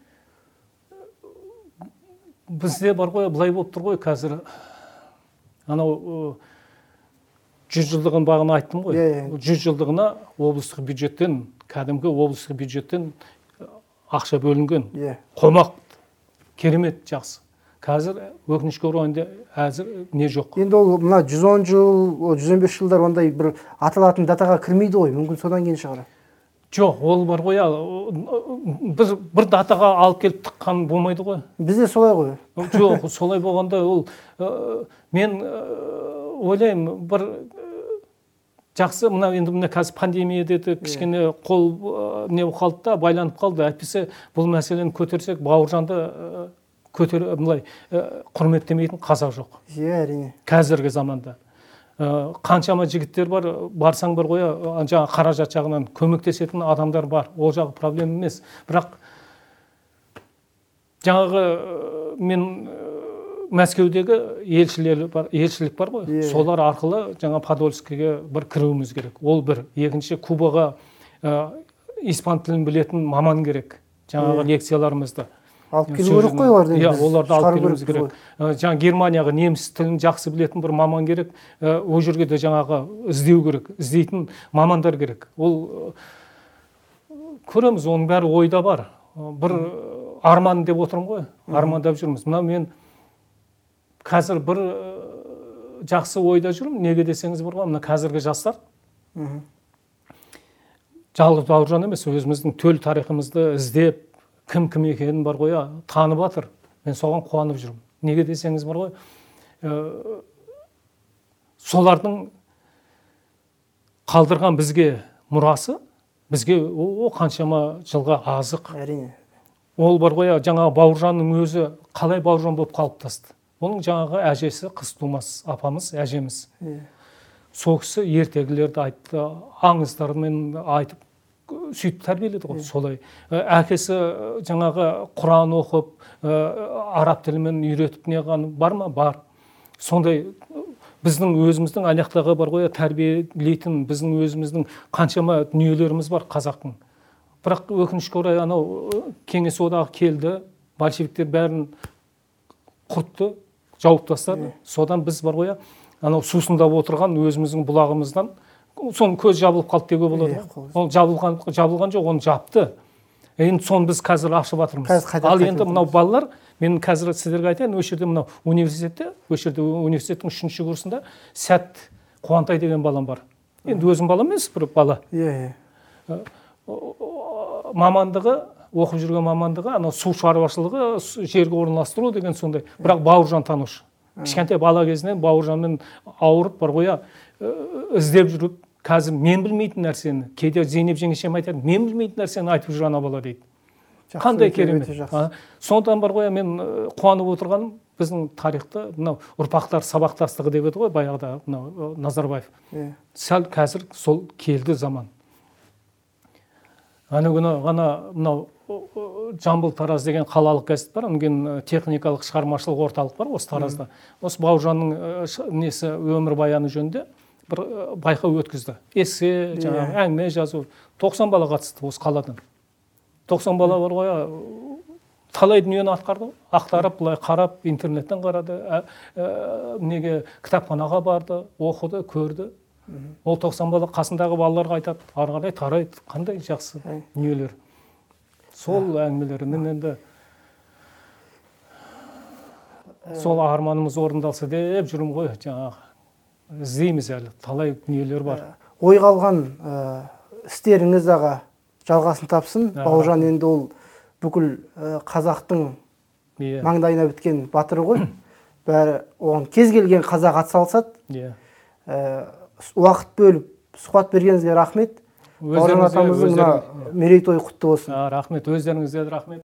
Бізде бар ғой, былай болып тұр ғой қазір. Анау жүз жылдығын бағына айттым ғой. жүз жылдығына облыстық бюджеттен, кәдімгі облыстық бюджеттен ақша бөлінген. Қомақ, керемет, жақсы. Қазір өкінішке орай әзір не жоқ. Енді ол мына жүз он жыл, жүз он бес жылдар ондай бір аталатын датаға кірмейді ғой, мүмкін содан кейін шығар. Жоқ, ол бар ғой, бір бір датаға алып келіп тыққан болмайды ғой. Бізде солай ғой. Жоқ, солай болғанда ол мен ойлаймын, бір жақсы, мына енді мына қазір пандемия деді, кішкене қол не қалды да, байланып қалды. Әйтпесе бұл мәселені көтерсек, Бауыржанды көтер былай құрметтемейтін қазақ жоқ. Иә, әрине. Қазіргі заманда қаншама жігіттер бар, барсаң бар ғой, жаңа қаражат жағынан көмектесетін адамдар бар. Ол жағы проблема емес. Бірақ жаңағы мен Мәскеудегі елшілер бар, елшілік бар ғой. Солар арқылы жаңа Подольскийге бір кіруіміз керек. Ол бір. Екінші, Кубаға испан тілін білетін маман керек. Жаңағы лекцияларымызды алып келу керек қой оларды. Иә, оларды алып келуіміз керек. Жаңа Германияға неміс тілін жақсы білетін бір маман керек. Ол жерге де жаңағы іздеу керек, іздейтін мамандар керек. Ол көреміз, оның бәрі ойда бар. Бір арман деп отырмын ғой, армандап жүрміз. Мына мен қазір бір жақсы ойда жүрмін. Неге десеңіз бар ғой, мына қазіргі жастар жалғыз Бауыржан емес, өзіміздің төл тарихымызды іздеп, кім кім екенін бар ғой, танып жатыр. Мен соған қуанып жүрмін. Неге десеңіз бар ғой, солардың қалдырған бізге мұрасы, бізге о қаншама жылға азық. Әрине. Ол бар ғой, жаңағы Бауыржанның өзі қалай Бауыржан болып қалыптасты. Оның жаңағы әжесі қыз тумас апамыз, әжеміз. Сол кісі ертегілерді айтты, аңыздармен айтып, сөйтіп тәрбиеледі ғой, солай. Әкесі жаңағы Құран оқып, араб тілімен үйретіп неғаны бар ма? Бар. Сондай біздің өзіміздің аяқтағы бар ғой, тәрбиелейтін біздің өзіміздің қаншама дүниелеріміз бар қазақтың. Бірақ өкінішке орай анау кеңес одағы келді, большевиктер бәрін құртты, жауып тастады. Содан біз бар ғой, анау сусындап отырған өзіміздің бұлағымыздан соның көз жабылып қалды деуге болады. Ол жабылған, жабылған жоқ, оны жапты. Енді соны біз қазір ашып жатырмыз. Ал енді мынау балалар, мен қазір сіздерге айтайын, осы жерде мынау университетте, осы жерде университеттің үшінші курсында Сәт Қуантай деген балам бар. Енді өзім балам емес, бір бала. Иә, иә. Мамандығы, оқып жүрген мамандығы, анау су шаруашылығы, жерге орналастыру деген сондай. Бірақ Бауыржан танушы. Кішкентай бала кезінен Бауыржанмен ауырып бар ғой, іздеп жүріп, қазір мен білмейтін нәрсені, кейде Зейнеп жеңешем айтады, мен білмейтін нәрсені айтып жүр ана бала дейді. Қандай керемет. Сондықтан бар ғой, мен қуанып отырғаным, біздің тарихта мынау ұрпақтар сабақтастығы деп еді ғой, баяғыда мынау Назарбаев. Сәл қазір сол келді заман. Ана күні ғана мынау Жамбыл Тараз деген қалалық газет бар, онымен техникалық шығармашылық орталық бар осы Таразда. Осы Бауыржанның несі өмірбаяны жөнінде бір байқау өткізді. Эссе, жаңағы әңгіме жазу. тоқсан бала қатысты осы қаладан. тоқсан бала бар ғой, талай дүниені атқарды, ақтарып, былай қарап, интернеттен қарады, неге кітапханаға барды, оқыды, көрді. Ол тоқсан бала қасындағы балаларға айтады, ары қарай тарайды, қандай жақсы дүниелер. Сол әңгімелерінен енді сол арманымыз орындалса деп жүрмін ғой, жаңағы іздейміз әлі, талай дүниелер бар. Ойға алған істеріңіз аға жалғасын тапсын. Бауыржан енді ол бүкіл қазақтың маңдайына біткен батыры ғой. Бәрі оған кез келген қазақ атсалысады. Уақыт бөліп сұхбат бергеніңізге рахмет. Бауыржан атамыздың мерейтойы құтты болсын. Рахмет, өздеріңізге рахмет.